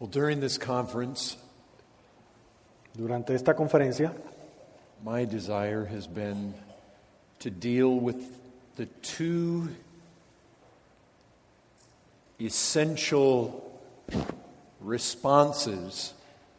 Well, during this conference, Durante esta conferencia, my desire has been to deal with the two essential responses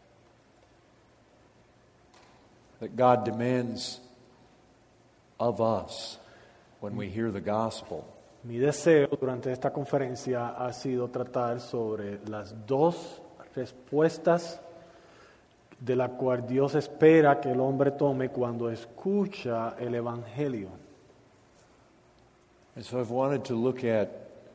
that God demands of us when we hear the gospel. mi deseo durante esta conferencia ha sido tratar sobre las dos respuestas de la cual Dios espera que el hombre tome cuando escucha el Evangelio. And so I've wanted to look at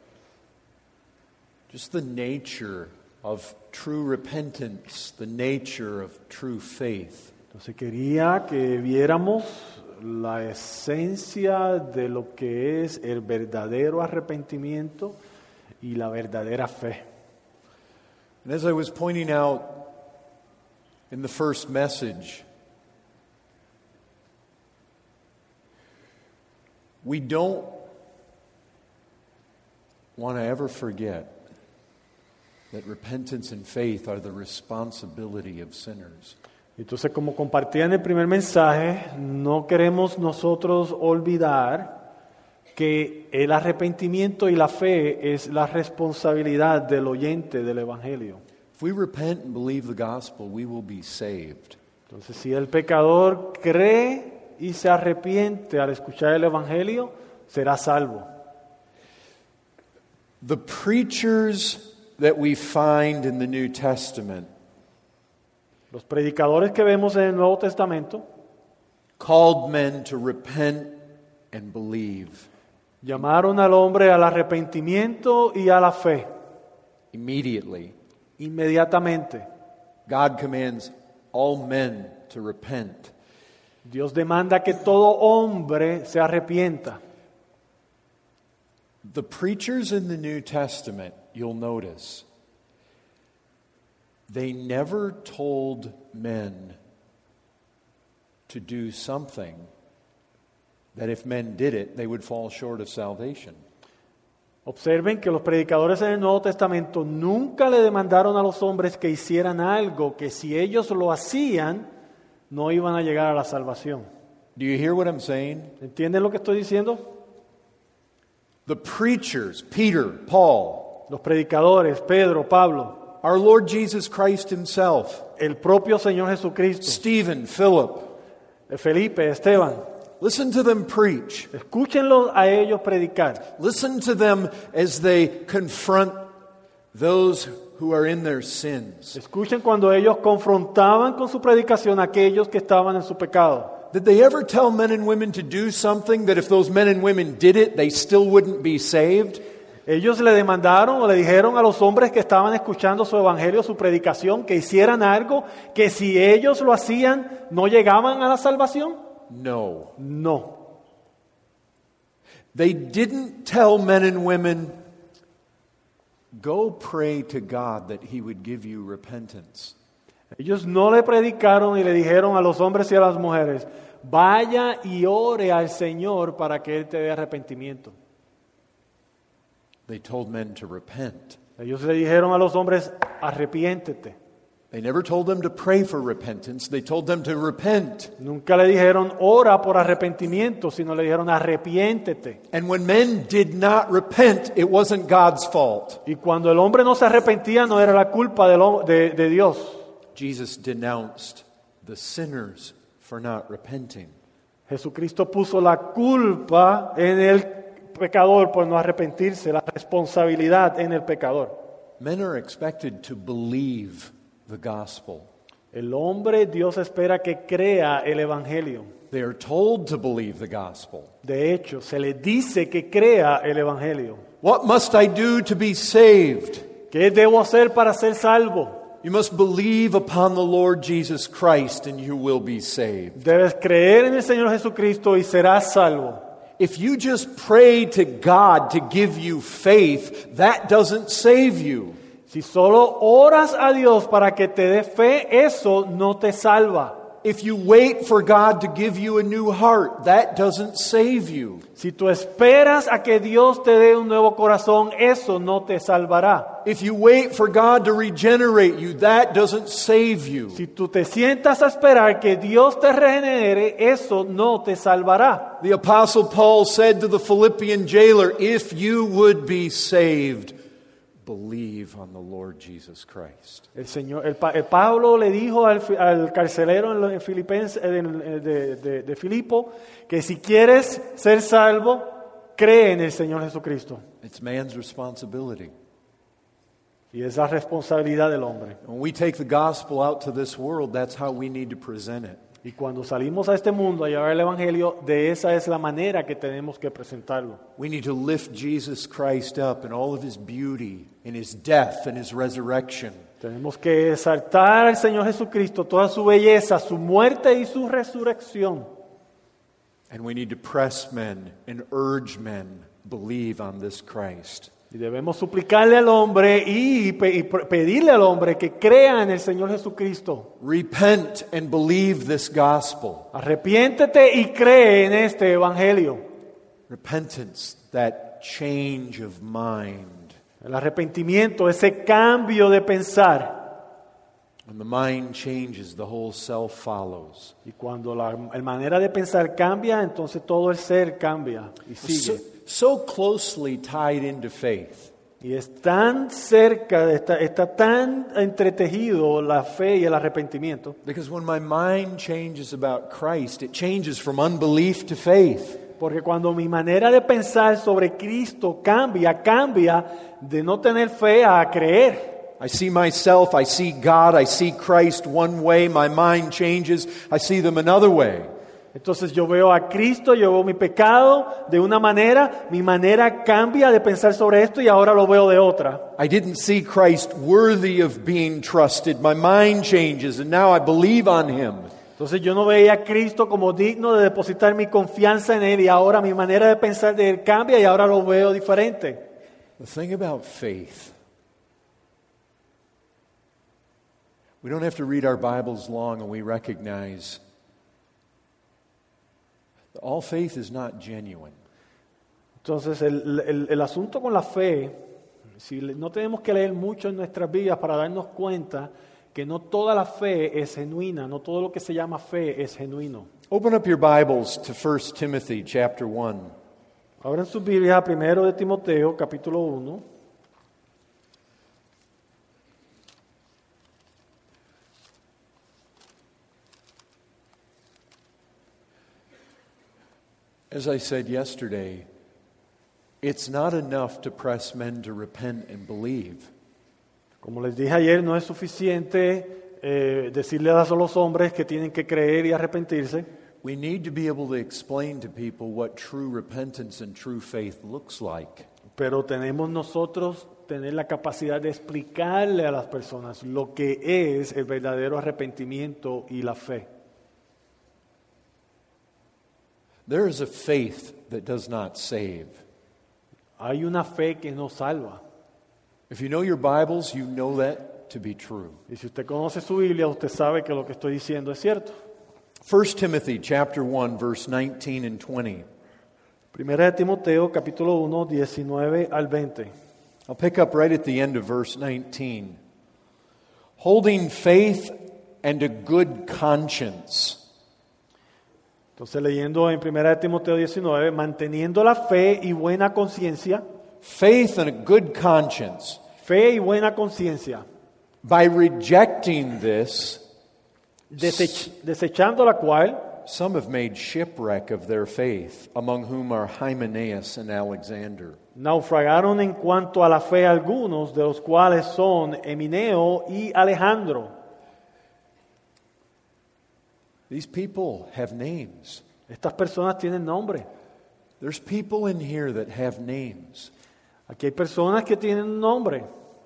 just the nature of true repentance, the nature of true faith. Entonces quería que viéramos la esencia de lo que es el verdadero arrepentimiento y la verdadera fe. And as I was pointing out in the first message, we don't want to ever forget that repentance and faith are the responsibility of sinners. Entonces, como compartía en el primer mensaje, no queremos nosotros olvidar que el arrepentimiento y la fe es la responsabilidad del oyente del Evangelio. If we repent and believe the gospel, we will be saved. Entonces, si el pecador cree y se arrepiente al escuchar el Evangelio, será salvo. The preachers that we find in the New Testament Los predicadores que vemos en el Nuevo Testamento called men to repent and believe. llamaron al hombre al arrepentimiento y a la fe Immediately, inmediatamente. God commands all men to repent. Dios demanda que todo hombre se arrepienta. The preachers in the New Testament, you'll notice, they never told men to do something that if men did it, they would fall short of salvation. Observen que los predicadores en el Nuevo Testamento nunca le demandaron a los hombres que hicieran algo que si ellos lo hacían, no iban a llegar a la salvación. Do you hear what I'm saying? ¿Entienden lo que estoy diciendo? The preachers, Peter, Paul, Los predicadores, Pedro, Pablo, our Lord Jesus Christ himself, el propio Señor Jesucristo, Stephen, Philip, Felipe, Esteban. listen to them preach. Escúchenlos a ellos predicar. Listen to them as they confront those who are in their sins. Escuchen cuando ellos confrontaban con su predicación a aquellos que estaban en su pecado. Did they ever tell men and women to do something that if those men and women did it, they still wouldn't be saved? Ellos le demandaron o le dijeron a los hombres que estaban escuchando su evangelio, su predicación, que hicieran algo que si ellos lo hacían, ¿no llegaban a la salvación? No. No. They didn't tell men and women, go pray to God that He would give you repentance. Ellos no le predicaron y le dijeron a los hombres y a las mujeres, vaya y ore al Señor para que Él te dé arrepentimiento. They told men to repent. Ellos le dijeron a los hombres, arrepiéntete. They never told them to pray for repentance. They told them to repent. Nunca le dijeron, ora por arrepentimiento, sino le dijeron, arrepiéntete. And when men did not repent, it wasn't God's fault. Y cuando el hombre no se arrepentía, no era la culpa de Dios. Jesus denounced the sinners for not repenting. Jesucristo puso la culpa en el pecador por no arrepentirse, la responsabilidad en el pecador. Men are expected to believe the gospel. El hombre, Dios espera que crea el evangelio. They are told to believe the gospel. De hecho, se le dice que crea el evangelio. What must I do to be saved? ¿Qué debo hacer para ser salvo? You must believe upon the Lord Jesus Christ and you will be saved. Debes creer en el Señor Jesucristo y serás salvo. If you just pray to God to give you faith, that doesn't save you. Si solo oras a Dios para que te dé fe, eso no te salva. If you wait for God to give you a new heart, that doesn't save you. Si tú esperas a que Dios te dé un nuevo corazón, eso no te salvará. If you wait for God to regenerate you, that doesn't save you. Si tú te sientas a esperar que Dios te regenere, eso no te salvará. The Apostle Paul said to the Philippian jailer, if you would be saved, believe on the Lord Jesus Christ. El Pablo le dijo al carcelero en Filipenses, de Filipo, que si quieres ser salvo, cree en el Señor Jesucristo. It's man's responsibility. Y es la responsabilidad del hombre. When we take the gospel out to this world, that's how we need to present it. Y cuando salimos a este mundo a llevar el Evangelio, de esa es la manera que tenemos que presentarlo. We need to lift Jesus Christ up in all of his beauty, in his death and his resurrection. Tenemos que exaltar al Señor Jesucristo, toda su belleza, su muerte y su resurrección. And we need to press men and urge men, believe on this Christ. Y debemos suplicarle al hombre y pedirle al hombre que crea en el Señor Jesucristo. Repent and believe this gospel. Arrepiéntete y cree en este evangelio. Repentance, that change of mind. El arrepentimiento, ese cambio de pensar. When the mind changes, the whole self follows. Y cuando la manera de pensar cambia, entonces todo el ser cambia y sigue. So closely tied into faith. Y es tan cerca, está tan entretejido la fe y el arrepentimiento. Because when my mind changes about Christ, it changes from unbelief to faith. Porque cuando mi manera de pensar sobre Cristo cambia de no tener fe a creer. I see myself, I see God, I see Christ one way, my mind changes, I see them another way. Entonces yo veo a Cristo, yo veo mi pecado de una manera, mi manera cambia de pensar sobre esto y ahora lo veo de otra. I didn't see Christ worthy of being trusted. My mind changes and now I believe on him. Entonces yo no veía a Cristo como digno de depositar mi confianza en Él y ahora mi manera de pensar de Él cambia y ahora lo veo diferente. The thing about faith, we don't have to read our Bibles long and we recognize that all faith is not genuine. Entonces el asunto con la fe, si no tenemos que leer mucho en nuestras vidas para darnos cuenta que no toda la fe es genuina, no todo lo que se llama fe es genuino. Open up your Bibles to 1 Timothy chapter 1. Abran sus Biblias a 1 de Timoteo, capítulo 1. As I said yesterday, it's not enough to press men to repent and believe. Como les dije ayer, no es suficiente decirle a los hombres que tienen que creer y arrepentirse. We need to be able to explain to people what true repentance and true faith looks like. Pero tenemos nosotros tener la capacidad de explicarle a las personas lo que es el verdadero arrepentimiento y la fe. There is a faith that does not save. Hay una fe que no salva. If you know your Bibles, you know that to be true. Y si usted conoce su Biblia, usted sabe que lo que estoy diciendo es cierto. 1 Timothy chapter 1 verse 19 and 20. Primera de Timoteo, capítulo 1, 19 al 20. I'll pick up right at the end of verse 19. Holding faith and a good conscience. Entonces leyendo en Primera de Timoteo 19, manteniendo la fe y buena conciencia. Faith and a good conscience. Fe y buena conciencia. By rejecting this, desechando la cual, some have made shipwreck of their faith, among whom are Hymenaeus and Alexander. naufragaron en cuanto a la fe algunos, de los cuales son Emineo y Alejandro. These people have names. Estas personas tienen nombre. There's people in here that have names. Aquí hay personas que tienen un nombre.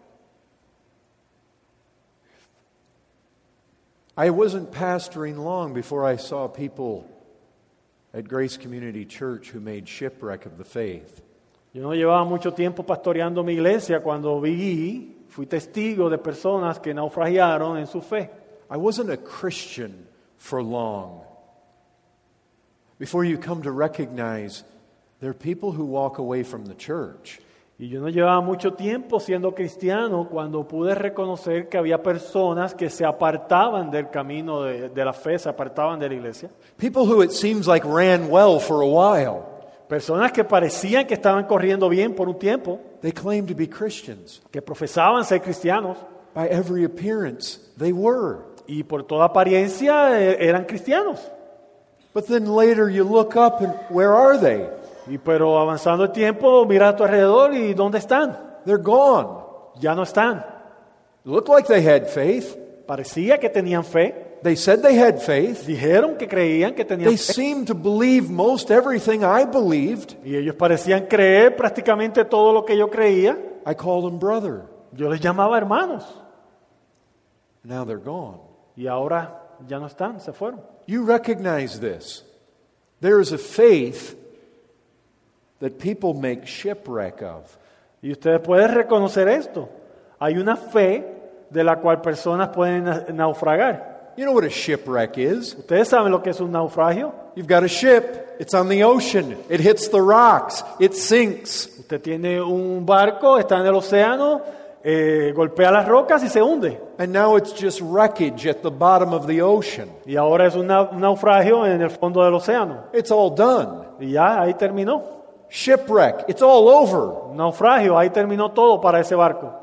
I wasn't pastoring long before I saw people at Grace Community Church who made shipwreck of the faith. Yo no llevaba mucho tiempo pastoreando mi iglesia cuando fui testigo de personas que naufragiaron en su fe. I wasn't a Christian for long before you come to recognize there are people who walk away from the church. Y yo no llevaba mucho tiempo siendo cristiano cuando pude reconocer que había personas que se apartaban del camino de la fe, se apartaban de la iglesia. People who it seems like ran well for a while. Personas que parecían que estaban corriendo bien por un tiempo, They claimed to be Christians. que profesaban ser cristianos By every appearance, they were. y por toda apariencia eran cristianos. But then later you look up and where are they? Pero avanzando el tiempo, mira a tu alrededor y ¿dónde están? They're gone. Ya no están. It looked like they had faith. Parecía que tenían fe. They said they had faith. Dijeron que creían que tenían They fe. seemed to believe most everything I believed. Y ellos parecían creer prácticamente todo lo que yo creía. I called them brother. Yo les llamaba hermanos. Now they're gone. Y ahora ya no están, se fueron. You recognize this. There is a faith that people make shipwreck of. Y ustedes pueden reconocer esto. Hay una fe de la cual personas pueden naufragar. You know what a shipwreck is? Ustedes saben lo que es un naufragio. You've got a ship. It's on the ocean. It hits the rocks. It sinks. Usted tiene un barco, está en el océano, golpea las rocas y se hunde. And now it's just wreckage at the bottom of the ocean. Y ahora es un naufragio en el fondo del océano. It's all done. Y ya ahí terminó. Shipwreck. It's all over. Un naufragio, ahí terminó todo para ese barco.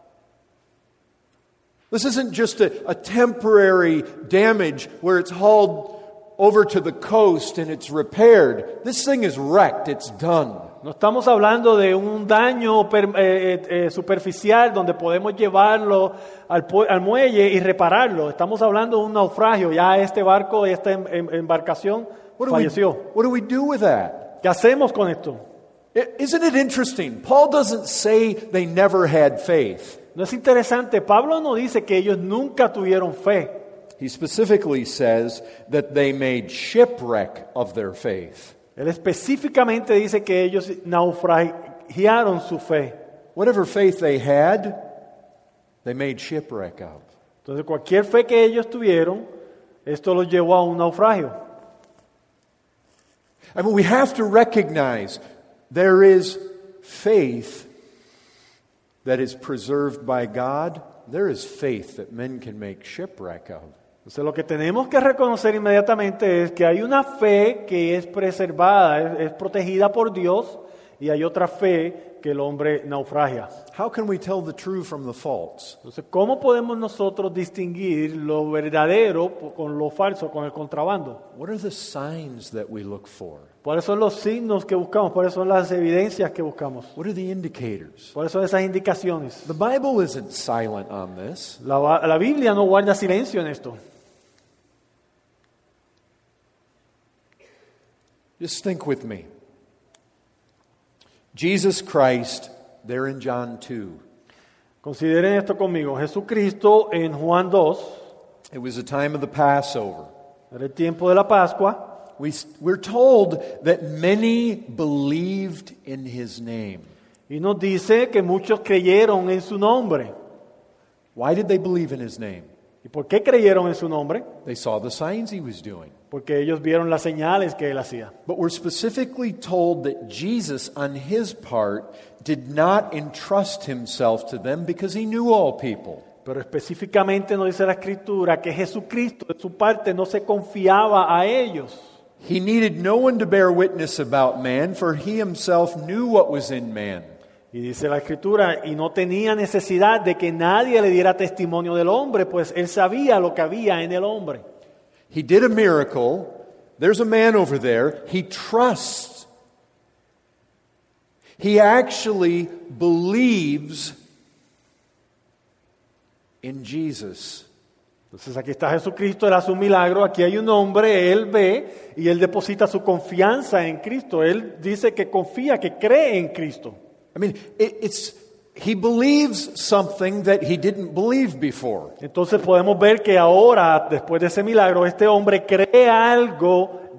This isn't just a temporary damage where it's hauled over to the coast and it's repaired. This thing is wrecked. It's done. No estamos hablando de un daño superficial donde podemos llevarlo al muelle y repararlo. Estamos hablando de un naufragio. Ya este barco, esta embarcación falleció. What do we do with that? ¿Qué hacemos con esto? Isn't it interesting? Paul doesn't say they never had faith. ¿No es interesante? Pablo no dice que ellos nunca tuvieron fe. He specifically says that they made shipwreck of their faith. Él específicamente dice que ellos naufragiaron su fe. Whatever faith they had, they made shipwreck of. Entonces cualquier fe que ellos tuvieron, esto los llevó a un naufragio. I mean, we have to recognize there is faith that is preserved by God. There is faith that men can make shipwreck of. Entonces lo que tenemos que reconocer inmediatamente es que hay una fe que es preservada, es protegida por Dios, y hay otra fe que el hombre naufragia. How can we tell the true from the false? Entonces, ¿cómo podemos nosotros distinguir lo verdadero con lo falso, con el contrabando? What are the signs that we look for? ¿Cuáles son los signos que buscamos? ¿Cuáles son las evidencias que buscamos? What are the indicators? ¿Cuáles son esas indicaciones? The Bible isn't silent on this. La Biblia no guarda silencio en esto. Just think with me. Jesus Christ, there in John 2. Consideren esto conmigo. Jesucristo en Juan 2, It was the time of the Passover. era el tiempo de la Pascua. We're told that many believed in His name. Y nos dice que muchos creyeron en su nombre. Why did they believe in His name? ¿Y por qué creyeron en su nombre? They saw the signs He was doing. Porque ellos vieron las señales que él hacía. But we're specifically told that Jesus, on His part, did not entrust Himself to them because He knew all people. Pero específicamente nos dice la Escritura que Jesucristo de su parte no se confiaba a ellos. He needed no one to bear witness about man, for He Himself knew what was in man. Y dice la Escritura, y no tenía necesidad de que nadie le diera testimonio del hombre, pues él sabía lo que había en el hombre. He did a miracle. There's a man over there. He trusts. He actually believes in Jesus. Entonces aquí está Jesucristo, él hace un milagro, aquí hay un hombre, él ve y él deposita su confianza en Cristo. Él dice que confía, que cree en Cristo. I mean, he believes something that he didn't believe before. Entonces podemos ver que ahora, después de ese milagro, este hombre cree algo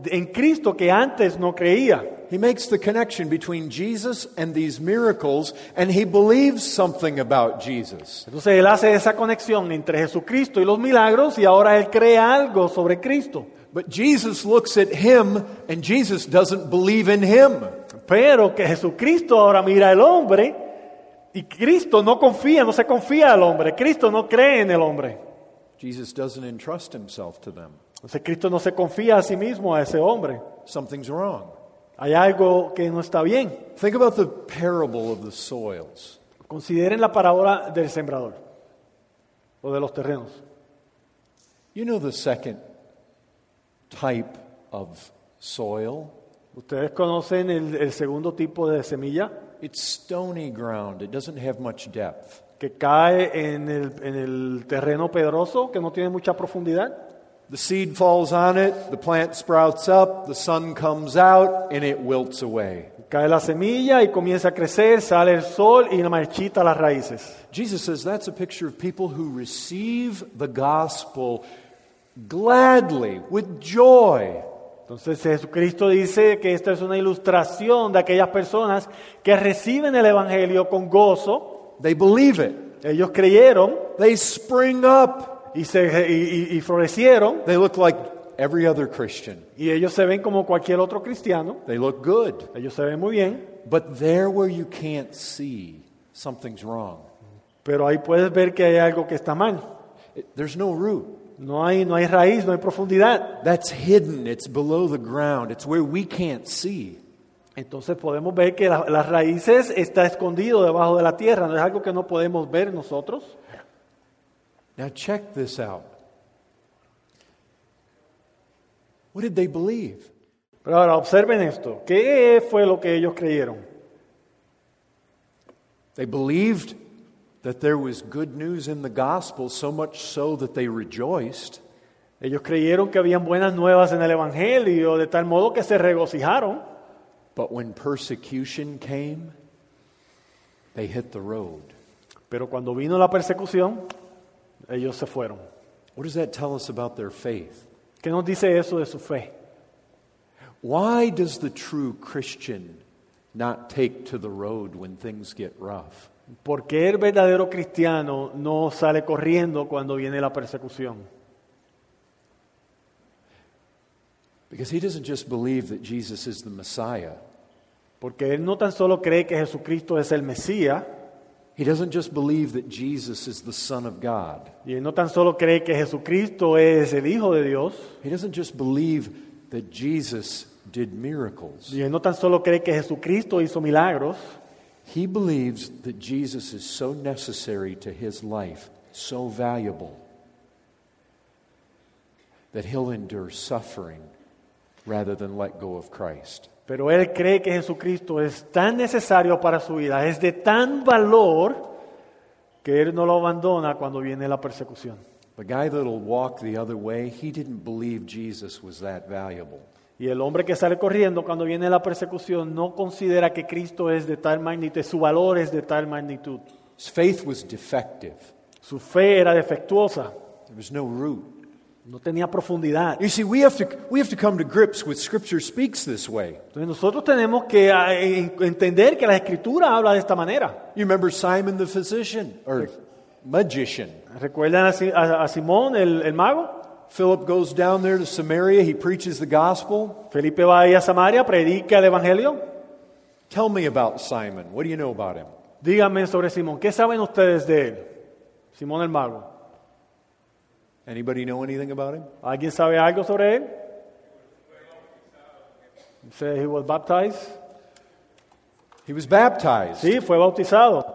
en Cristo que antes no creía. He makes the connection between Jesus and these miracles, and he believes something about Jesus. Entonces él hace esa conexión entre Jesucristo y los milagros y ahora él cree algo sobre Cristo. But Jesus looks at him, and Jesus doesn't believe in him. Pero que Jesucristo ahora mira al hombre y Cristo no se confía al hombre. Cristo no cree en el hombre. Jesus doesn't entrust himself to them. Entonces Cristo no se confía a sí mismo, a ese hombre. Something's wrong. Hay algo que no está bien. Think about the parable of the soils. Consideren la parábola del sembrador o de los terrenos. You know the second type of soil? ¿Ustedes conocen el segundo tipo de semilla? It's stony ground. It doesn't have much depth. Que cae en el terreno pedroso, que no tiene mucha profundidad. The seed falls on it, the plant sprouts up, the sun comes out, and it wilts away. Cae la semilla y comienza a crecer, sale el sol y marchita las raíces. Jesus says that's a picture of people who receive the gospel gladly, with joy. Entonces Jesucristo dice que esta es una ilustración de aquellas personas que reciben el evangelio con gozo. They believe it. Ellos creyeron They spring up. y florecieron. They look like every other Christian. Y ellos se ven como cualquier otro cristiano. They look good. Ellos se ven muy bien. But there where you can't see, something's wrong. Pero ahí puedes ver que hay algo que está mal. There's no root. No hay raíz, no hay profundidad. That's hidden. It's below the ground. It's where we can't see. Entonces podemos ver que las raíces está escondido debajo de la tierra. No es algo que no podemos ver nosotros. Now check this out. What did they believe? Pero ahora observen esto. ¿Qué fue lo que ellos creyeron? They believed that there was good news in the gospel, so much so that they rejoiced. Ellos creyeron que habían buenas nuevas en el evangelio, de tal modo que se regocijaron. But when persecution came, they hit the road. Pero cuando vino la persecución, ellos se fueron. What does that tell us about their faith? ¿Qué nos dice eso de su fe? Why does the true Christian not take to the road when things get rough? ¿Por qué el verdadero cristiano no sale corriendo cuando viene la persecución? Because he doesn't just believe that Jesus is the Messiah. Porque él no tan solo cree que Jesucristo es el Mesías, He doesn't just believe that Jesus is the Son of God. y él no tan solo cree que Jesucristo es el Hijo de Dios, He doesn't just believe that Jesus did miracles. y él no tan solo cree que Jesucristo hizo milagros, He believes that Jesus is so necessary to his life, so valuable, that he'll endure suffering rather than let go of Christ. pero él cree que Jesucristo es tan necesario para su vida, es de tan valor, que él no lo abandona cuando viene la persecución. The guy that'll walk the other way, he didn't believe Jesus was that valuable. Y el hombre que sale corriendo cuando viene la persecución no considera que Cristo es de tal magnitud, su valor es de tal magnitud. His faith was defective. Su fe era defectuosa, There was no root. no tenía profundidad. You see, we have to come to grips with Scripture speaks this way. Entonces nosotros tenemos que entender que la Escritura habla de esta manera. You remember Simon the physician or magician? ¿Recuerdan a Simón, el mago? Philip goes down there to Samaria. He preaches the gospel. Felipe va ahí a Samaria, predica el Evangelio. Tell me about Simon. What do you know about him? Díganme sobre Simón. ¿Qué saben ustedes de él? Simón el mago. Anybody know anything about him? ¿Alguien sabe algo sobre él? Say he was baptized. He was baptized. Sí, fue bautizado.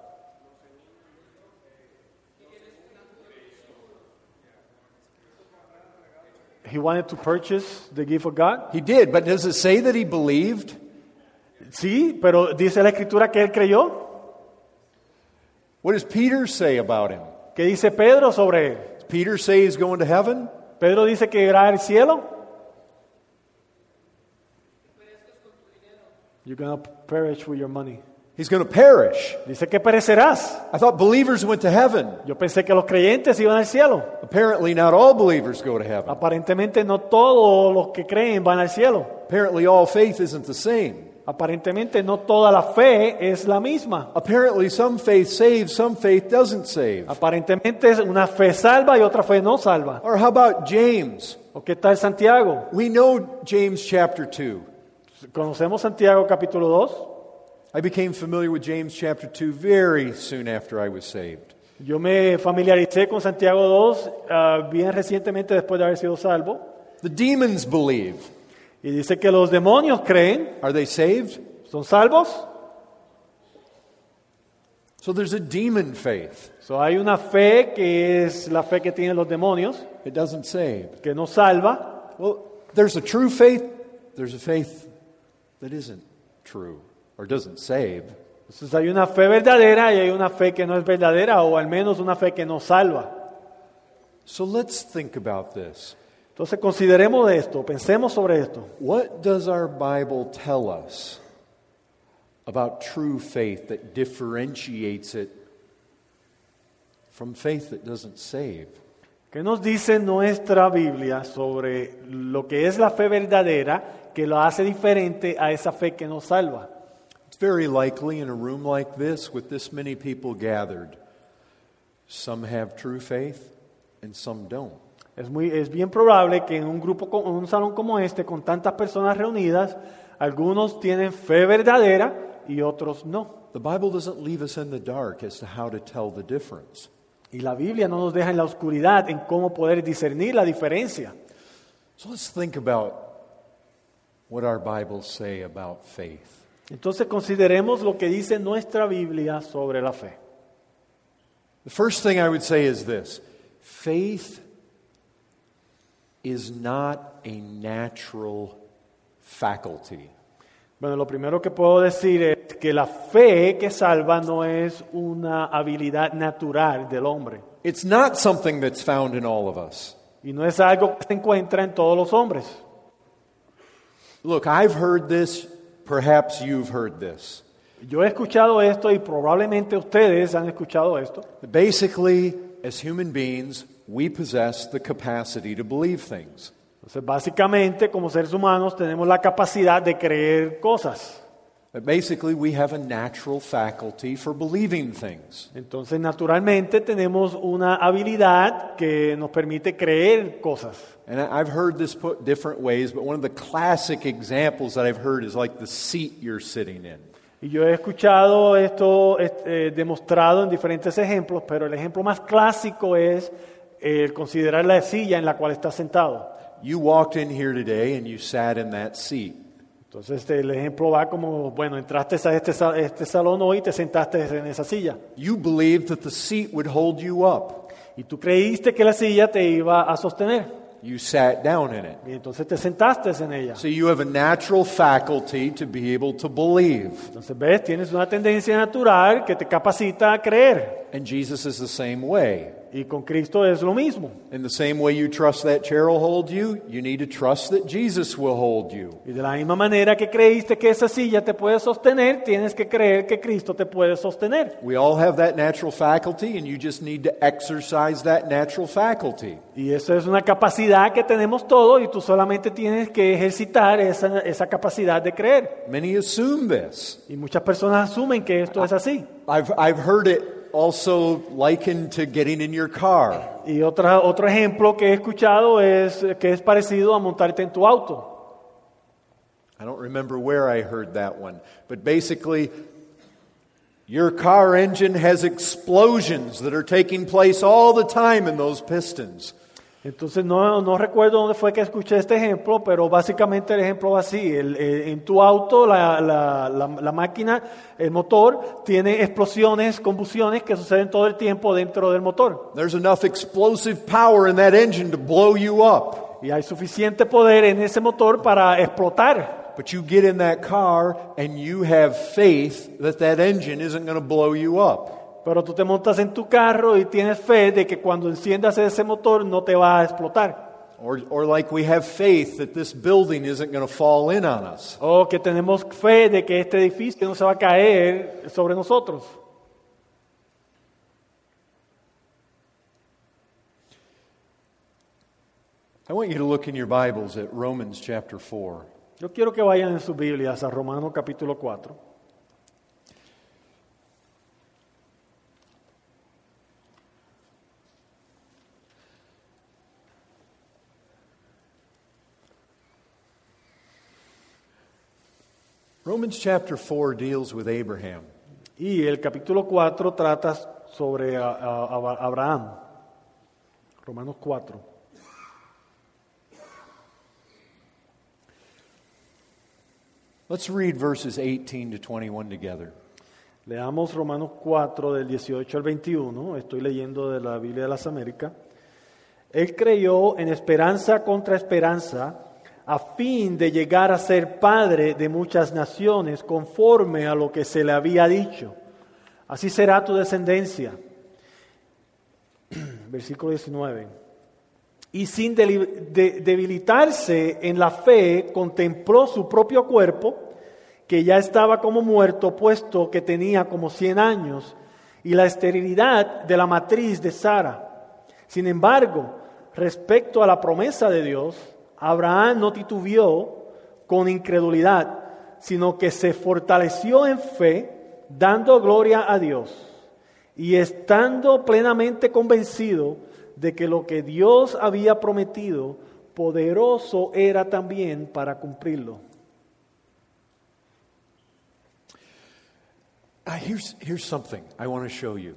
He wanted to purchase the gift of God. He did, but does it say that he believed? Sí, pero dice la Escritura que él creyó. What does Peter say about him? ¿Qué dice Pedro sobre él? Does Peter say he's going to heaven? Pedro dice que irá al cielo. You're going to perish with your money. He's going to perish. Dice que perecerás. I thought believers went to heaven. Yo pensé que los creyentes iban al cielo. Apparently, not all believers go to heaven. Aparentemente no todos los que creen van al cielo. Apparently, all faith isn't the same. Aparentemente no toda la fe es la misma. Apparently, some faith saves, some faith doesn't save. Aparentemente una fe salva y otra fe no salva. Or how about James? ¿O qué tal Santiago? We know James chapter 2. Conocemos Santiago capítulo 2. I became familiar with James chapter 2 very soon after I was saved. Yo me familiaricé con Santiago 2 bien recientemente después de haber sido salvo. The demons believe. Y dice que los demonios creen. Are they saved? ¿Son salvos? So there's a demon faith. So hay una fe que es la fe que tienen los demonios, It doesn't save. que no salva. Well, there's a true faith. There's a faith that isn't true or doesn't save. Entonces hay una fe verdadera y hay una fe que no es verdadera, o al menos una fe que no salva. So let's think about this. Entonces consideremos esto, pensemos sobre esto. What does our Bible tell us about true faith that differentiates it from faith that doesn't save? ¿Qué nos dice nuestra Biblia sobre lo que es la fe verdadera que lo hace diferente a esa fe que no salva? It's very likely in a room like this with this many people gathered, some have true faith and some don't. Es bien probable que en un grupo, en un salón como este, con tantas personas reunidas, algunos tienen fe verdadera y otros no. The Bible doesn't leave us in the dark as to how to tell the difference. Y la Biblia no nos deja en la oscuridad en cómo poder discernir la diferencia. So let's think about what our Bibles say about faith. Entonces consideremos lo que dice nuestra Biblia sobre la fe. The first thing I would say is this: faith is not a natural faculty. Bueno, lo primero que puedo decir es que la fe que salva no es una habilidad natural del hombre. It's not something that's found in all of us. Y no es algo que se encuentra en todos los hombres. Look, I've heard this, perhaps you've heard this. Yo he escuchado esto y probablemente ustedes han escuchado esto. Basically, as human beings, we possess the capacity to believe things. Entonces, básicamente, como seres humanos, tenemos la capacidad de creer cosas. But basically, we have a natural faculty for believing things. Entonces, naturalmente, tenemos una habilidad que nos permite creer cosas. And I've heard this put different ways, but one of the classic examples that I've heard is like the seat you're sitting in. Y yo he escuchado esto demostrado en diferentes ejemplos, pero el ejemplo más clásico es considerar la silla en la cual estás sentado. You walked in here today and you sat in that seat. Entonces el ejemplo va como, bueno, entraste a este salón hoy y te sentaste en esa silla. You believed that the seat would hold you up. Y tú creíste que la silla te iba a sostener. You sat down in it. Y entonces te sentaste en ella. So you have a natural faculty to be able to believe. Entonces, ves, tienes una tendencia natural que te capacita a creer. And Jesus is the same way. Y con Cristo es lo mismo. In the same way you trust that chair will hold you, you need to trust that Jesus will hold you. Y de la misma manera que creíste que esa silla te puede sostener, tienes que creer que Cristo te puede sostener. We all have that natural faculty, and you just need to exercise that natural faculty. Y eso es una capacidad que tenemos todos y tú solamente tienes que ejercitar esa capacidad de creer. Many assume this. Y muchas personas asumen que esto es así. I've heard it also likened to getting in your car. Y otro ejemplo que he escuchado es que es parecido a montarte en tu auto. I don't remember where I heard that one, but basically, your car engine has explosions that are taking place all the time in those pistons. Entonces no recuerdo dónde fue que escuché este ejemplo, pero básicamente el ejemplo va así. En tu auto la máquina, el motor, tiene explosiones, combustiones que suceden todo el tiempo dentro del motor. There's enough explosive power in that engine to blow you up. Y hay suficiente poder en ese motor para explotar. But you get in that car and you have faith that that engine isn't going to blow you up. Pero tú te montas en tu carro y tienes fe de que cuando enciendas ese motor no te va a explotar. Or like we have faith that this building isn't going to fall in on us. O que tenemos fe de que este edificio no se va a caer sobre nosotros. I want you to look in your Bibles at Romans chapter 4. Yo quiero que vayan en sus Biblias a Romanos capítulo 4. Romans chapter 4 deals with Abraham. Y el capítulo 4 trata sobre Abraham. Romanos 4. Let's read verses 18 to 21 together. Leamos Romanos 4 del 18 al 21. Estoy leyendo de la Biblia de las Américas. Él creyó en esperanza contra esperanza, a fin de llegar a ser padre de muchas naciones, conforme a lo que se le había dicho. Así será tu descendencia. Versículo 19. Y sin debilitarse en la fe, contempló su propio cuerpo, que ya estaba como muerto, puesto que tenía como 100 años, y la esterilidad de la matriz de Sara. Sin embargo, respecto a la promesa de Dios, Abraham no titubeó con incredulidad, sino que se fortaleció en fe, dando gloria a Dios, y estando plenamente convencido de que lo que Dios había prometido, poderoso era también para cumplirlo. Here's something I want to show you.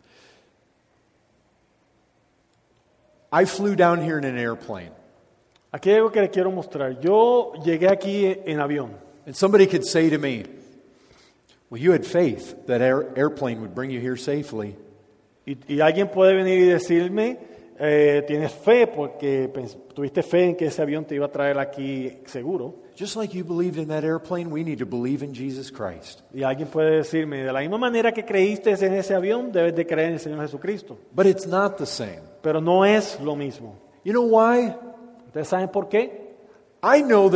I flew down here in an airplane. Aquí hay algo que les quiero mostrar. Yo llegué aquí en avión. And somebody could say to me, well, you had faith that airplane would bring you here safely. Y alguien puede venir y decirme, tienes fe porque tuviste fe en que ese avión te iba a traer aquí seguro. Just like you believed in that airplane, we need to believe in Jesus Christ. Y alguien puede decirme, de la misma manera que creíste en ese avión, debes de creer en el Señor Jesucristo. But it's not the same. Pero no es lo mismo. You know why? ¿Ustedes saben por qué? I know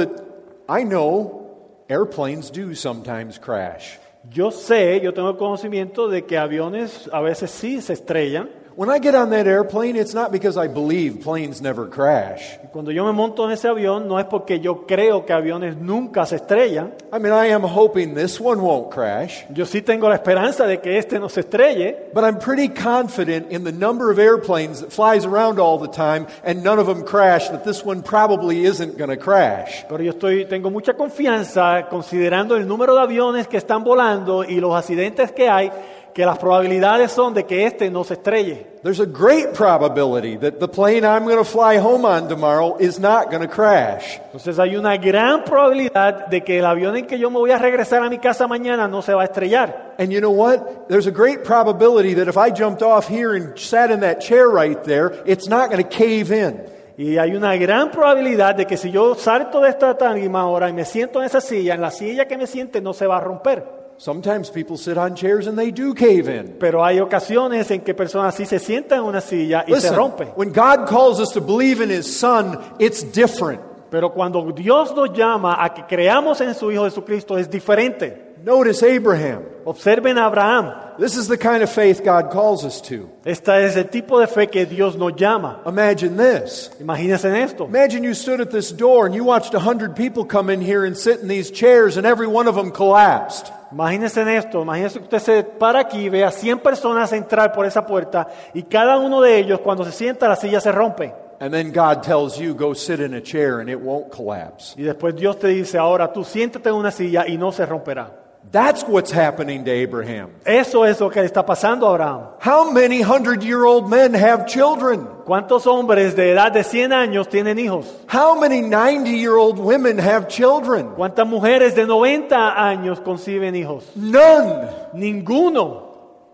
airplanes do sometimes crash. Yo tengo el conocimiento de que aviones a veces sí se estrellan. When I get on that airplane, it's not because I believe planes never crash. Cuando yo me monto en ese avión, no es porque yo creo que aviones nunca se estrellan. I mean, I am hoping this one won't crash. Yo sí tengo la esperanza de que este no se estrelle. But I'm pretty confident in the number of airplanes that flies around all the time and none of them crash, that this one probably isn't going to crash. Pero tengo mucha confianza considerando el número de aviones que están volando y los accidentes que hay, que las probabilidades son de que este no se estrelle. There's a great probability that the plane I'm going to fly home on tomorrow is not going to crash. Entonces hay una gran probabilidad de que el avión en que yo me voy a regresar a mi casa mañana no se va a estrellar. And you know what? There's a great probability that if I jumped off here and sat in that chair right there, it's not going to cave in. Y hay una gran probabilidad de que si yo salto de esta tarima ahora y me siento en esa silla, en la silla que me siente no se va a romper. Sometimes people sit on chairs and they do cave in. Pero hay ocasiones en que personas sí se sientan en una silla y se rompe. When God calls us to believe in His Son, it's different. Pero cuando Dios nos llama a que creamos en su Hijo Jesucristo es diferente. Notice Abraham. Observen a Abraham. This is the kind of faith God calls us to. Esta es el tipo de fe que Dios nos llama. Imagine this. Imagínense en esto. Imagine you stood at this door and you watched 100 people come in here and sit in these chairs and every one of them collapsed. Imagínense en esto. Imagínense que usted se para aquí y ve a 100 personas entrar por esa puerta y cada uno de ellos cuando se sienta la silla se rompe. And then God tells you, go sit in a chair and it won't collapse. Y después Dios te dice, ahora tú siéntate en una silla y no se romperá. That's what's happening to Abraham. Eso es lo que le está pasando a Abraham. How many 100-year-old men have children? ¿Cuántos hombres de edad de 100 años tienen hijos? How many 90-year-old women have children? ¿Cuántas mujeres de 90 años conciben hijos? None. Ninguno.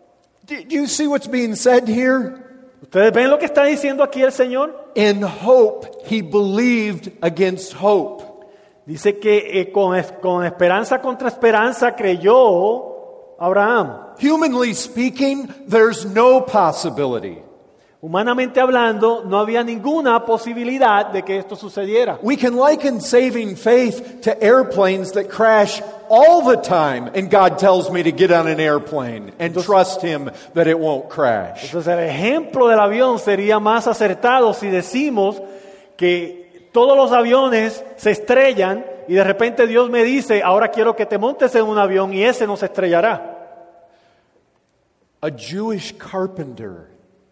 Do you see what's being said here? ¿Ustedes ven lo que está diciendo aquí el Señor? In hope, he believed against hope. Dice que con esperanza contra esperanza creyó Abraham. Humanly speaking, there's no possibility. Humanamente hablando, no había ninguna posibilidad de que esto sucediera. We can liken saving faith to airplanes that crash all the time, and God tells me to get on an airplane and trust Him that it won't crash. Entonces el ejemplo del avión sería más acertado si decimos que todos los aviones se estrellan y de repente Dios me dice, ahora quiero que te montes en un avión y ese no se estrellará. A Jewish carpenter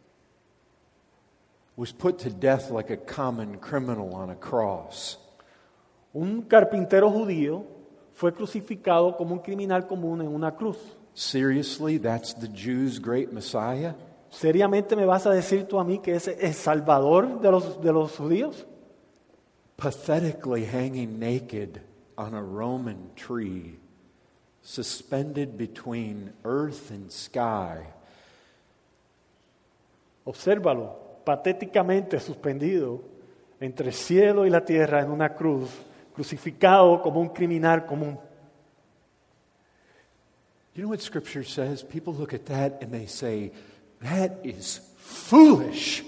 was put to death like a common criminal on a cross. Un carpintero judío fue crucificado como un criminal común en una cruz. Seriously, that's the Jews' great Messiah? ¿Seriamente me vas a decir tú a mí que ese es el salvador de los judíos? Pathetically hanging naked on a Roman tree, suspended between earth and sky. Obsérvalo, patéticamente suspendido entre el cielo y la tierra en una cruz, crucificado como un criminal común. You know what Scripture says? People look at that and they say, that is foolish.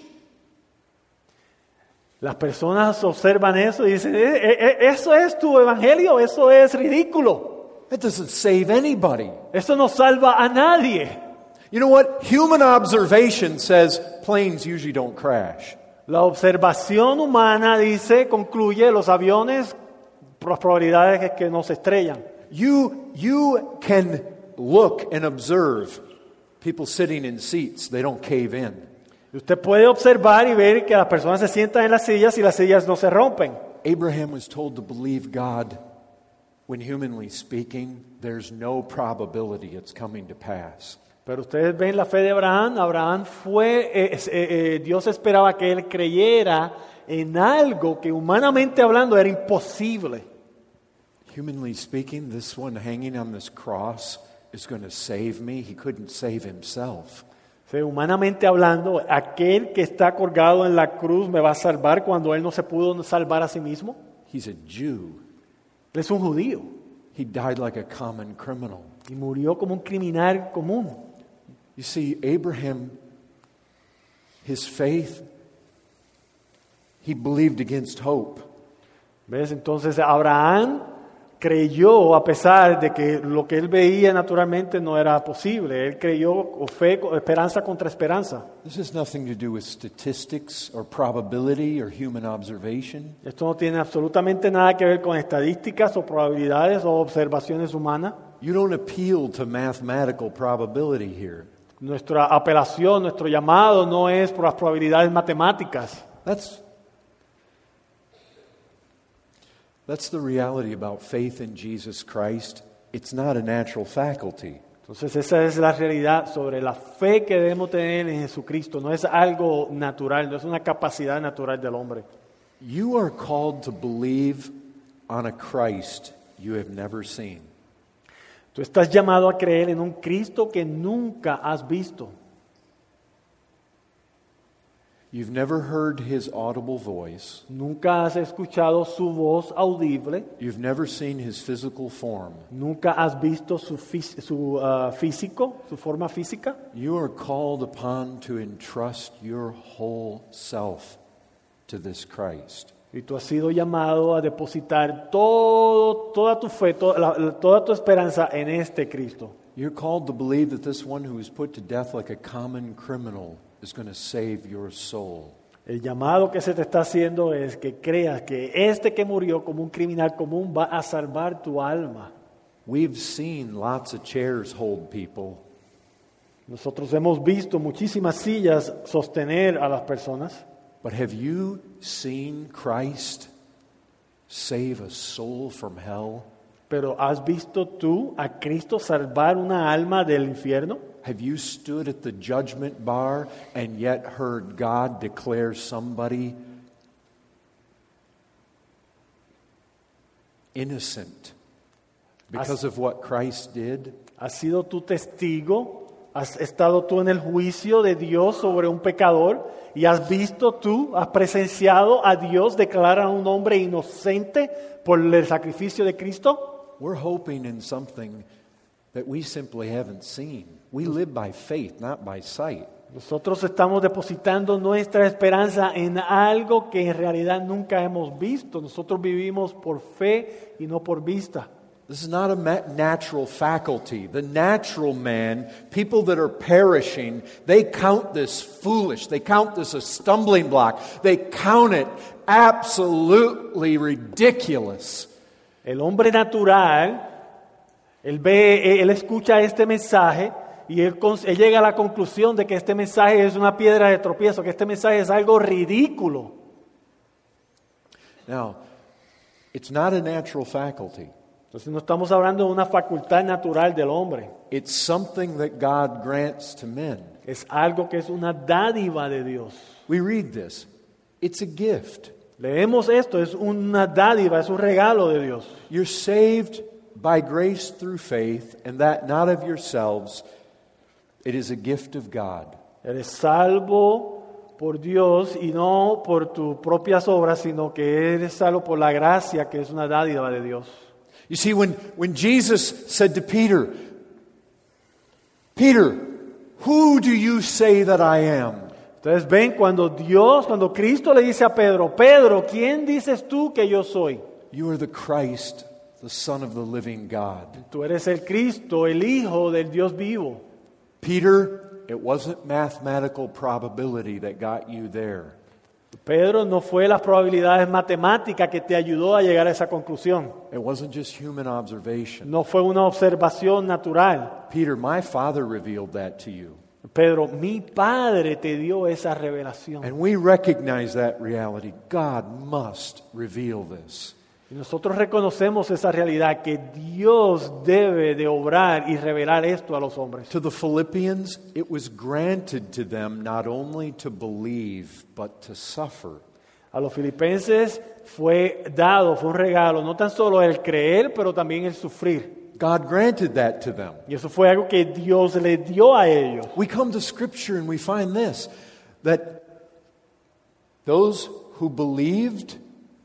Las personas observan eso y dicen, ¿eso es tu evangelio? Eso es ridículo. That doesn't save anybody. Eso no salva a nadie. You know what? Human observation says planes usually don't crash. La observación humana concluye, los aviones, las probabilidades es que no se estrellan. You can look and observe people sitting in seats, they don't cave in. Usted puede observar y ver que las personas se sientan en las sillas y las sillas no se rompen. Abraham was told to believe God when, humanly speaking, there's no probability it's coming to pass. Pero ustedes ven la fe de Abraham. Abraham Dios esperaba que él creyera en algo que humanamente hablando era imposible. Humanly speaking, this one hanging on this cross is going to save me. He couldn't save himself. Humanamente hablando, aquel que está colgado en la cruz me va a salvar cuando él no se pudo salvar a sí mismo. He's a Jew. Él es un judío. He died like a common criminal. Y murió como un criminal común. You see, Abraham, his faith, he believed against hope. ¿Ves? Entonces Abraham creyó a pesar de que lo que él veía naturalmente no era posible. Él creyó con fe, esperanza contra esperanza. This has nothing to do with statistics or probability or human observation. Esto no tiene absolutamente nada que ver con estadísticas o probabilidades o observaciones humanas. You don't appeal to mathematical probability here. Nuestra apelación, nuestro llamado no es por las probabilidades matemáticas. That's the reality about faith in Jesus Christ. It's not a natural faculty. Entonces esa es la realidad sobre la fe que debemos tener en Jesucristo. No es algo natural, no es una capacidad natural del hombre. You are called to believe on a Christ you have never seen. Tú estás llamado a creer en un Cristo que nunca has visto. You've never heard his audible voice. Nunca has escuchado su voz audible. You've never seen his physical form. Nunca has visto su físico, su forma física. You are called upon to entrust your whole self to this Christ. Y tú has sido llamado a depositar toda tu fe, toda tu esperanza en este Cristo. You're called to believe that this one who was put to death like a common criminal is going to save your soul. El llamado que se te está haciendo es que creas que este que murió como un criminal común va a salvar tu alma. We've seen lots of chairs hold people. Nosotros hemos visto muchísimas sillas sostener a las personas. But have you seen Christ save a soul from hell? Pero ¿has visto tú a Cristo salvar una alma del infierno? Have you stood at the judgment bar and yet heard God declare somebody innocent because of what Christ did? ¿Has sido tú testigo? ¿Has estado tú en el juicio de Dios sobre un pecador? ¿Y has visto tú, has presenciado a Dios declarar a un hombre inocente por el sacrificio de Cristo? We're hoping in something that we simply haven't seen. We live by faith, not by sight. Nosotros estamos depositando nuestra esperanza en algo que en realidad nunca hemos visto. Nosotros vivimos por fe y no por vista. This is not a natural faculty. The natural man, people that are perishing, they count this foolish. They count this a stumbling block. They count it absolutely ridiculous. El hombre natural, él escucha este mensaje y él llega a la conclusión de que este mensaje es una piedra de tropiezo, que este mensaje es algo ridículo. Now, it's not a natural faculty. Entonces no estamos hablando de una facultad natural del hombre. It's something that God grants to men. Es algo que es una dádiva de Dios. We read this. It's a gift. Leemos esto, es una dádiva, es un regalo de Dios. You're saved by grace through faith, and that not of yourselves. It is a gift of God. Eres salvo por Dios y no por tus propias obras, sino que eres salvo por la gracia, que es una dádiva de Dios. You see, when Jesus said to Peter, Peter, who do you say that I am? Entonces ven cuando Cristo le dice a Pedro, Pedro, ¿quién dices tú que yo soy? You are the Christ, the Son of the living God. Tú eres el Cristo, el Hijo del Dios vivo. Peter, it wasn't mathematical probability that got you there. Pedro, no fue las probabilidades matemáticas que te ayudó a llegar a esa conclusión. It wasn't just human observation. No fue una observación natural. Peter, my Father revealed that to you. Pedro, mi Padre te dio esa revelación. And we recognize that reality. God must reveal this. Y nosotros reconocemos esa realidad, que Dios debe de obrar y revelar esto a los hombres. To the Philippians, it was granted to them not only to believe, but to suffer. A los filipenses fue un regalo, no tan solo el creer, pero también el sufrir. God granted that to them. Y eso fue algo que Dios le dio a ellos. We come to Scripture and we find this, that those who believed,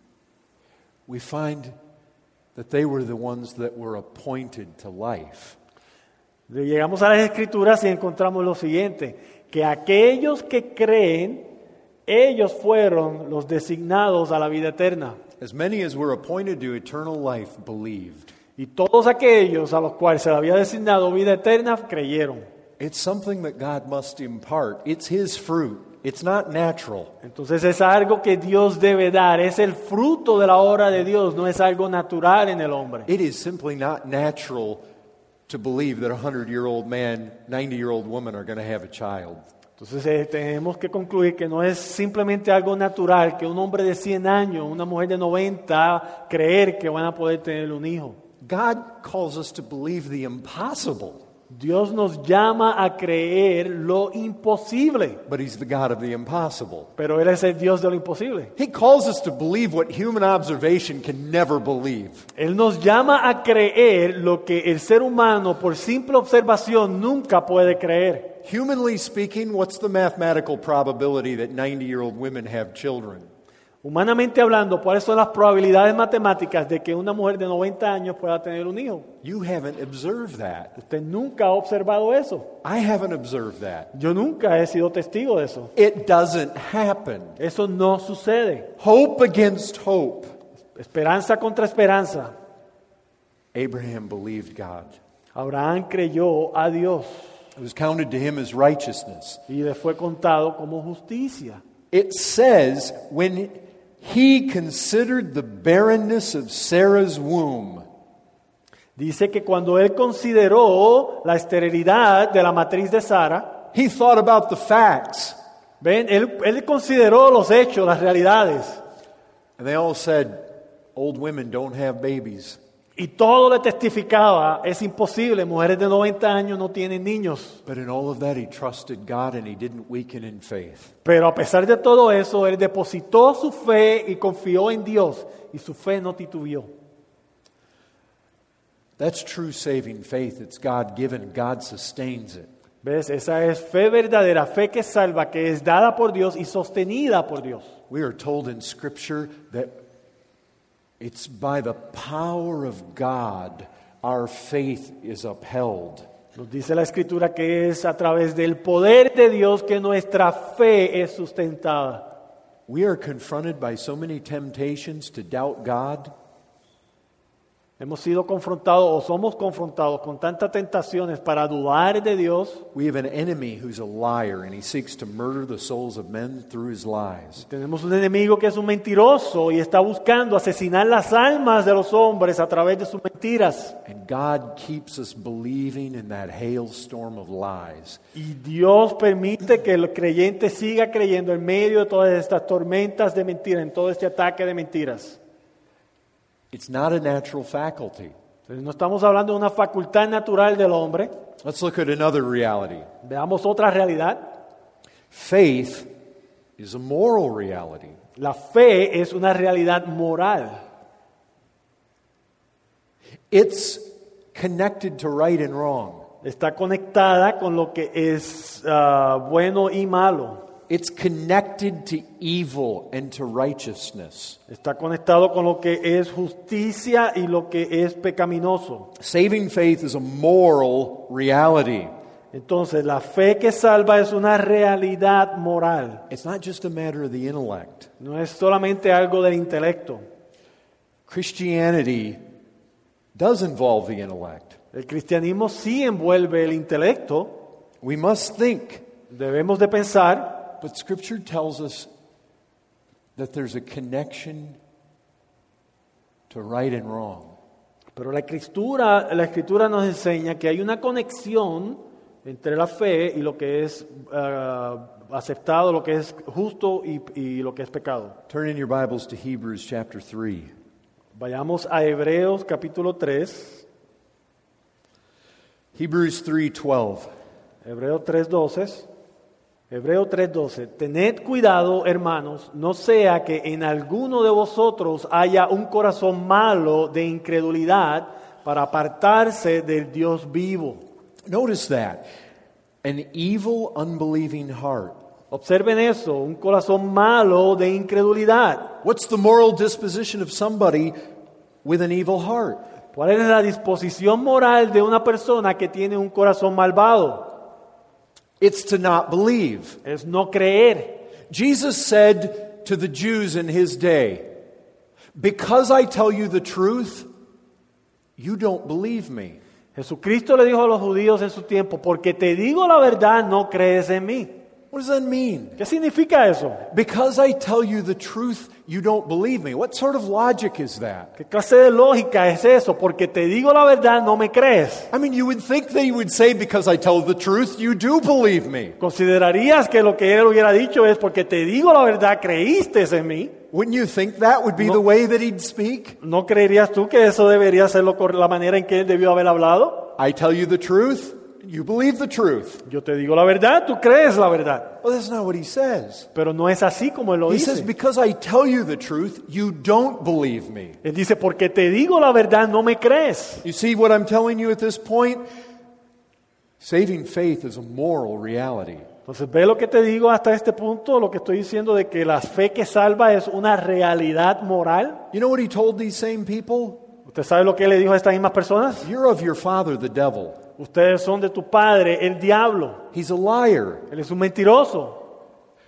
we find that they were the ones that were appointed to life. Llegamos a las Escrituras y encontramos lo siguiente, que aquellos que creen, ellos fueron los designados a la vida eterna. As many as were appointed to eternal life believed. Y todos aquellos a los cuales se le había designado vida eterna creyeron. It's something that God must impart. It's His fruit. It's not natural. Entonces es algo que Dios debe dar, es el fruto de la obra de Dios, no es algo natural en el hombre. It is simply not natural to believe that a 100-year-old man, 90-year-old woman are going to have a child. Entonces tenemos que concluir que no es simplemente algo natural que un hombre de 100 años, una mujer de 90, creer que van a poder tener un hijo. God calls us to believe the impossible. Dios nos llama a creer lo imposible. But He's the God of the impossible. Pero Él es el Dios de lo imposible. He calls us to believe what human observation can never believe. Él nos llama a creer lo que el ser humano por simple observación nunca puede creer. Humanly speaking, what's the mathematical probability that 90-year-old women have children? Humanamente hablando, ¿cuáles son las probabilidades matemáticas de que una mujer de 90 años pueda tener un hijo? You haven't observed that. Usted nunca ha observado eso. I haven't observed that. Yo nunca he sido testigo de eso. It doesn't happen. Eso no sucede. Hope against hope. Esperanza contra esperanza. Abraham believed God. Abraham creyó a Dios. It was counted to him as righteousness. Y le fue contado como justicia. It says when he considered the barrenness of Sarah's womb. Dice que cuando él consideró la esterilidad de la matriz de Sara, he thought about the facts. Ven, él consideró los hechos, las realidades. And they all said, old women don't have babies. Y todo le testificaba, es imposible, mujeres de 90 años no tienen niños. But in all of that he trusted God and he didn't weaken in faith. Pero a pesar de todo eso, él depositó su fe y confió en Dios, y su fe no titubeó. That's true saving faith. It's God-given. God sustains it. ¿Ves? Esa es fe verdadera, fe que salva, que es dada por Dios y sostenida por Dios. We are told in Scripture that it's by the power of God our faith is upheld. Nos dice la Escritura que es a través del poder de Dios que nuestra fe es sustentada. We are confronted by so many temptations to doubt God. Hemos sido confrontados o somos confrontados con tantas tentaciones para dudar de Dios. We have an enemy who's a liar and he seeks to murder the souls of men through his lies. Tenemos un enemigo que es un mentiroso y está buscando asesinar las almas de los hombres a través de sus mentiras. And God keeps us believing in that hailstorm of lies. Y Dios permite que el creyente siga creyendo en medio de todas estas tormentas de mentiras, en todo este ataque de mentiras. It's not a natural faculty. Entonces, no estamos hablando de una facultad natural del hombre. Let's look at another reality. Veamos otra realidad. Faith is a moral reality. La fe es una realidad moral. It's connected to right and wrong. Está conectada con lo que es bueno y malo. It's connected to evil and to righteousness. Está conectado con lo que es justicia y lo que es pecaminoso. Saving faith is a moral reality. Entonces, la fe que salva es una realidad moral. It's not just a matter of the intellect. No es solamente algo del intelecto. Christianity does involve the intellect. El cristianismo sí envuelve el intelecto. We must think, Debemos de pensar. but Scripture tells us that there's a connection to right and wrong. Pero la escritura nos enseña que hay una conexión entre la fe y lo que es aceptado, lo que es justo y lo que es pecado. Turn in your Bibles to Hebrews chapter 3. Vayamos a Hebreos capítulo 3. Hebrews 3:12. Hebreos 3:12. Hebreos 3:12. Tened cuidado, hermanos, no sea que en alguno de vosotros haya un corazón malo de incredulidad para apartarse del Dios vivo. Notice that. An evil, unbelieving heart. Observen eso, un corazón malo de incredulidad. What's the moral disposition of somebody with an evil heart? ¿Cuál es la disposición moral de una persona que tiene un corazón malvado? It's to not believe. Es no creer. Jesus said to the Jews in his day, "Because I tell you the truth, you don't believe me." Jesucristo le dijo a los judíos en su tiempo, porque te digo la verdad, no crees en mí. What does that mean? ¿Qué significa eso? Because I tell you the truth, you don't believe me. What sort of logic is that? ¿Qué clase de lógica es eso? Porque te digo la verdad, no me crees. I mean, you would think that he would say, because I tell the truth, you do believe me. ¿Considerarías que lo que él hubiera dicho es porque te digo la verdad, creíste en mí? Wouldn't you think that would be the way that he'd speak? ¿No creerías tú que eso debería ser la manera en que él debió haber hablado? I tell you the truth, you believe the truth. Yo te digo la verdad, tú crees la verdad. Well, that's not what he says. Pero no es así como él lo He dice. says, because I tell you the truth, you don't believe me. Él dice, porque te digo la verdad, no me crees. You see what I'm telling you at this point? Saving faith is a moral reality. Entonces, ve lo que te digo hasta este punto, lo que estoy diciendo de que la fe que salva es una realidad moral. You know what he told these same people? ¿Usted sabe lo que él le dijo a estas mismas personas? You're of your father, the devil. Ustedes son de tu padre, el diablo. He's a liar. Él es un mentiroso.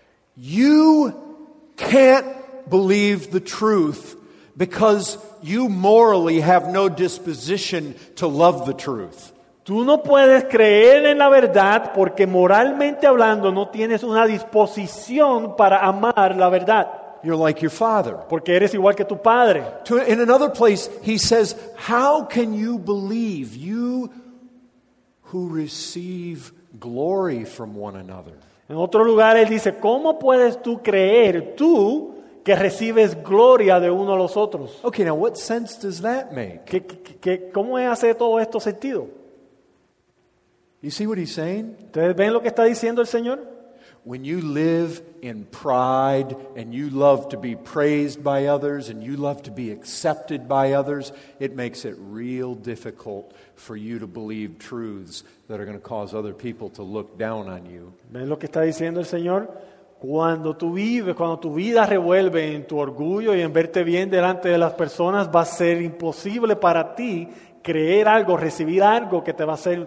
You can't believe the truth because you morally have no disposition to love the truth. Tú no puedes creer en la verdad porque moralmente hablando no tienes una disposición para amar la verdad. You're like your father. Porque eres igual que tu padre. In another place, he says, how can you believe, you who receive glory from one another? En otro lugar él dice, ¿cómo puedes tú creer, tú que recibes gloria de uno a los otros? Okay, now what sense does that make? ¿Cómo hace todo esto sentido? You see what he's saying? ¿Ustedes ven lo que está diciendo el Señor? When you live in pride and you love to be praised by others and you love to be accepted by others, it makes it real difficult for you to believe truths that are going to cause other people to look down on you. ¿Ven lo que está diciendo el Señor? Cuando tu vida revuelve en tu orgullo y en verte bien delante de las personas, va a ser imposible para ti creer algo, recibir algo que te va a hacer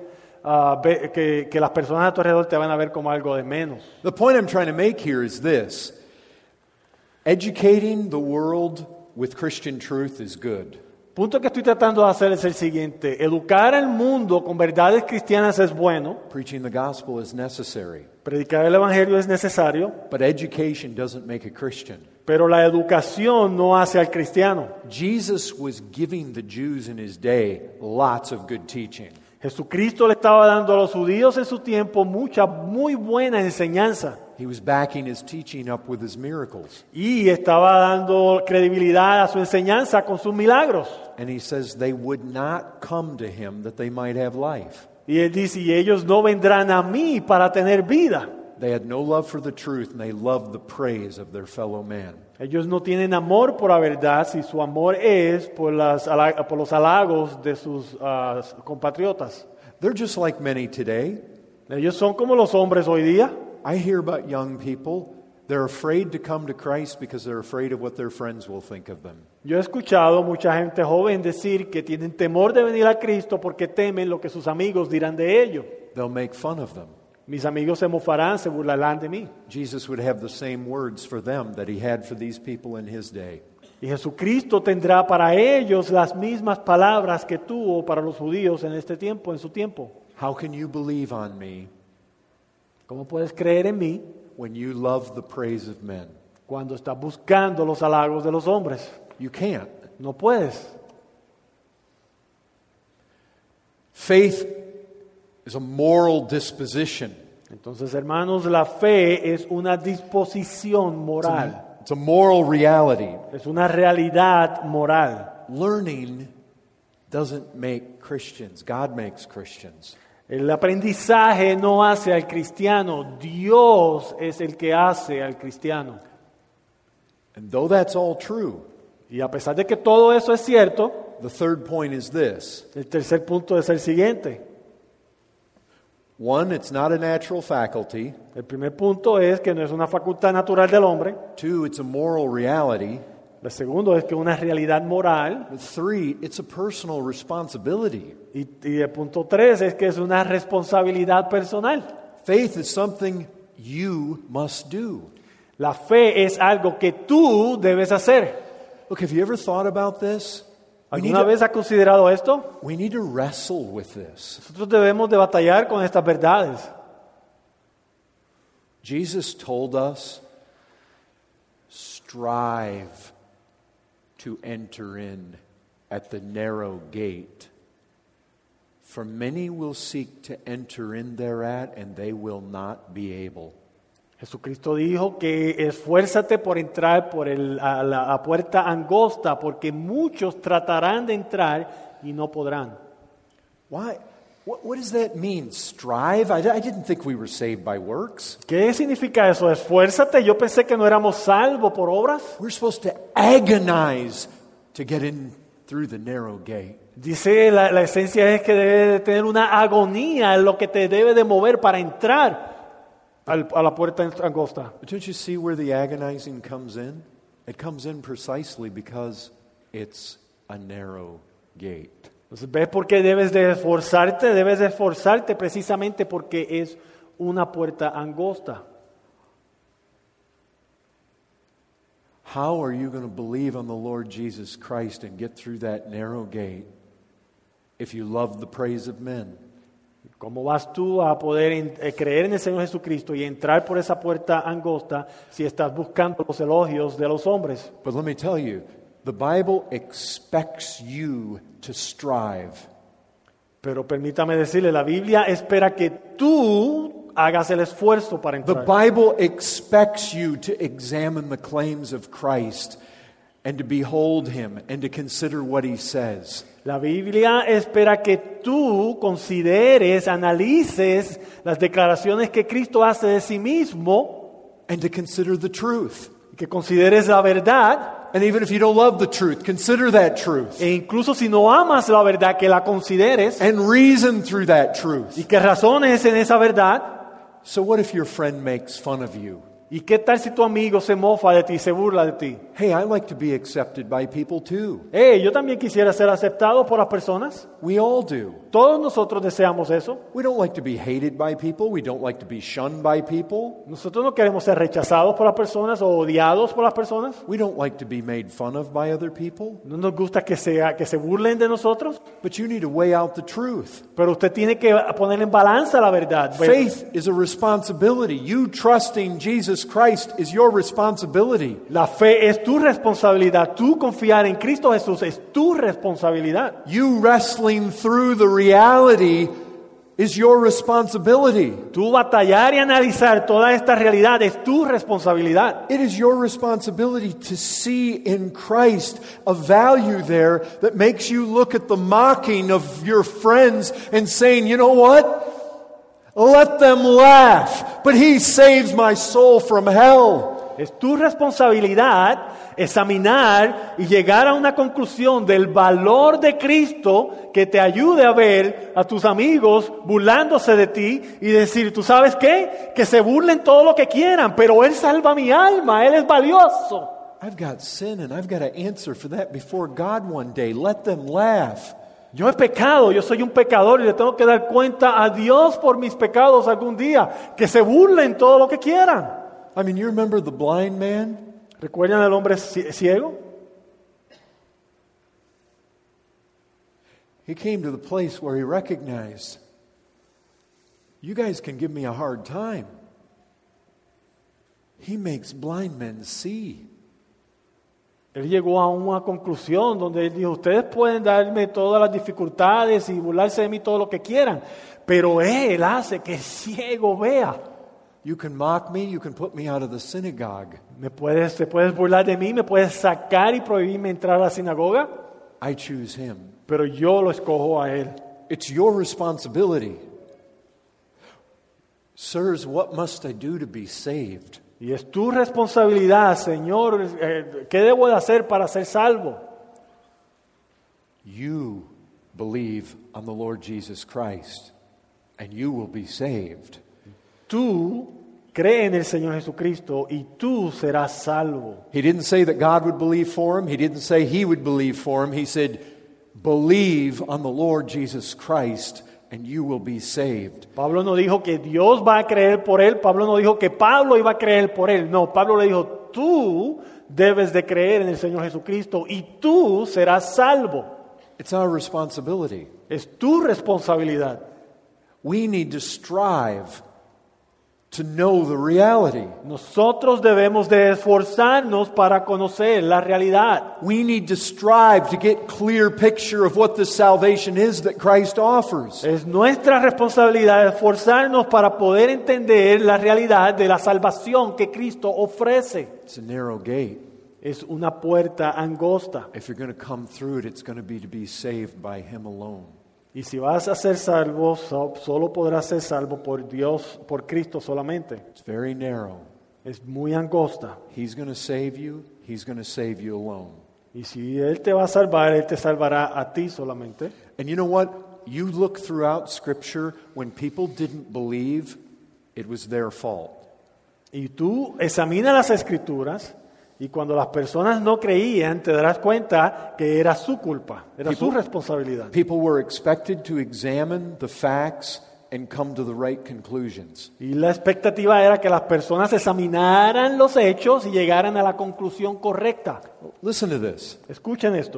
que las personas a tu alrededor te van a ver como algo de menos. The point I'm trying to make here is this. Educating the world with Christian truth is good. El punto que estoy tratando de hacer es el siguiente. Educar al mundo con verdades cristianas es bueno. Preaching the gospel is necessary. Predicar el evangelio es necesario. But education doesn't make a Christian. Pero la educación no hace al cristiano. Jesus was giving the Jews in his day lots of good teaching. Jesucristo le estaba dando a los judíos en su tiempo mucha, muy buena enseñanza. He was backing his teaching up with his miracles. Y estaba dando credibilidad a su enseñanza con sus milagros. And he says they would not come to him that they might have life. Y él dice, y ellos no vendrán a mí para tener vida. They had no love for the truth and they loved the praise of their fellow man. Ellos no tienen amor por la verdad, si su amor es por los halagos de sus compatriotas. They're just like many today. Ellos son como los hombres hoy día. I hear about young people, they're afraid to come to Christ because they're afraid of what their friends will think of them. Yo he escuchado mucha gente joven decir que tienen temor de venir a Cristo porque temen lo que sus amigos dirán de ellos. They'll make fun of them. Mis amigos se mofarán, se burlarán de mí. Jesus would have the same words for them that he had for these people in his day. Y Jesucristo tendrá para ellos las mismas palabras que tuvo para los judíos en este tiempo, en su tiempo. How can you believe on me ¿Cómo puedes creer en mí when you love the praise of men? cuando estás buscando los halagos de los hombres? You can't. No puedes. Faith is a moral disposition. Entonces, hermanos, la fe es una disposición moral. It's a moral reality. Es una realidad moral. Learning doesn't make Christians. God makes Christians. El aprendizaje no hace al cristiano, Dios es el que hace al cristiano. And though that's all true, Y a pesar de que todo eso es cierto, the third point is this. el tercer punto es el siguiente. One, it's not a natural faculty. El primer punto es que no es una facultad natural del hombre. Two, it's a moral reality. El segundo es que es una realidad moral. But three, it's a personal responsibility. Y el punto 3 es que es una responsabilidad personal. Faith is something you must do. La fe es algo que tú debes hacer. Look, have you ever thought about this? ¿Alguna vez has considerado esto? We need to wrestle with this. Nosotros debemos de batallar con estas verdades. Jesus told us, strive to enter in at the narrow gate. For many will seek to enter in thereat, and they will not be able. Jesucristo dijo que esfuérzate por entrar por la puerta angosta, porque muchos tratarán de entrar y no podrán. Why? What does that mean? Strive? I didn't think we were saved by works. ¿Qué significa eso? Esfuérzate. Yo pensé que no éramos salvos por obras. We're supposed to agonize to get in through the narrow gate. Dice la esencia es que debe de tener una agonía en lo que te debe de mover para entrar a la puerta angosta. But don't you see where the agonizing comes in? It comes in precisely because it's a narrow gate. Entonces, ¿ves por qué debes de esforzarte? Debes de esforzarte precisamente porque es una puerta angosta. How are you going to believe on the Lord Jesus Christ and get through that narrow gate if you love the praise of men? ¿Cómo vas tú a poder creer en el Señor Jesucristo y entrar por esa puerta angosta si estás buscando los elogios de los hombres? But let me tell you, the Bible expects you to strive. Pero permítame decirle, la Biblia espera que tú hagas el esfuerzo para The entrar. Bible expects you to examine the claims of Christ and to behold Him and to consider what He says. La Biblia espera que tú consideres, analices las declaraciones que Cristo hace de sí mismo, And to consider the truth. que consideres la verdad, And even if you don't love the truth, consider that truth. e incluso si no amas la verdad, que la consideres And reason through that truth. y que razones en esa verdad. So what if your friend makes fun of you? ¿Y qué tal si tu amigo se mofa de ti, se burla de ti? Hey, I like to be accepted by people too. Yo también quisiera ser aceptado por las personas. We all do. Todos nosotros deseamos eso. We don't like to be hated by people. We don't like to be shunned by people. Nosotros no queremos ser rechazados por las personas o odiados por las personas. We don't like to be made fun of by other people. No nos gusta que se burlen de nosotros. But you need to weigh out the truth. Pero usted tiene que poner en balanza la verdad. Faith is a responsibility. You trusting Jesus Christ is your responsibility. La fe es tu responsabilidad. Tú confiar en Cristo Jesús es tu responsabilidad. You wrestling through the reality is your responsibility. Tú batallar y analizar toda esta realidad es tu responsabilidad. It is your responsibility to see in Christ a value there that makes you look at the mocking of your friends and saying, you know what? Let them laugh, but he saves my soul from hell. Es tu responsabilidad examinar y llegar a una conclusión del valor de Cristo que te ayude a ver a tus amigos burlándose de ti y decir, ¿tú sabes qué? Que se burlen todo lo que quieran, pero Él salva mi alma, Él es valioso. I've got sin and I've got to answer for that before God one day. Let them laugh. Yo he pecado, yo soy un pecador y le tengo que dar cuenta a Dios por mis pecados algún día. Que se burlen todo lo que quieran. I mean, you remember the blind man? ¿Recuerdan al hombre ciego? He came to the place where he recognized, you guys can give me a hard time. He makes blind men see. Él llegó a una conclusión donde él dijo, ustedes pueden darme todas las dificultades y burlarse de mí todo lo que quieran, pero Él hace que el ciego vea. You can mock me, you can put me out of the synagogue. Te puedes burlar de mí, me puedes sacar y prohibirme entrar a la sinagoga, I choose him. pero yo lo escojo a Él. It's your responsibility. Sirs, what must I do to be saved? Y es tu responsabilidad, Señor, ¿qué debo de hacer para ser salvo? You believe on the Lord Jesus Christ, and you will be saved. Tú cree en el Señor Jesucristo y tú serás salvo. He didn't say that God would believe for him. He didn't say he would believe for him. He said, believe on the Lord Jesus Christ, and you will be saved. Pablo no dijo que Dios va a creer por él. Pablo no dijo que Pablo iba a creer por él. No, Pablo le dijo, tú debes de creer en el Señor Jesucristo y tú serás salvo. It's our responsibility. Es tu responsabilidad. We need to strive to know the reality. Nosotros debemos de esforzarnos para conocer la realidad. We need to strive to get clear picture of what the salvation is that Christ offers. Es nuestra responsabilidad esforzarnos para poder entender la realidad de la salvación que Cristo ofrece. It's a narrow gate. Es una puerta angosta. If you're going to come through it, it's going to be saved by him alone. Y si vas a ser salvo, solo podrás ser salvo por Dios, por Cristo solamente. It's very narrow. Es muy angosta. He's going to save you. He's going to save you alone. Y si Él te va a salvar, Él te salvará a ti solamente. And you know what? You look throughout Scripture, when people didn't believe, it was their fault. Y tú examina las Escrituras y cuando las personas no creían, te darás cuenta que era su culpa, era su responsabilidad. People were expected to examine the facts and come to the right conclusions. Y la expectativa era que las personas examinaran los hechos y llegaran a la conclusión correcta. Listen to this. Escuchen esto.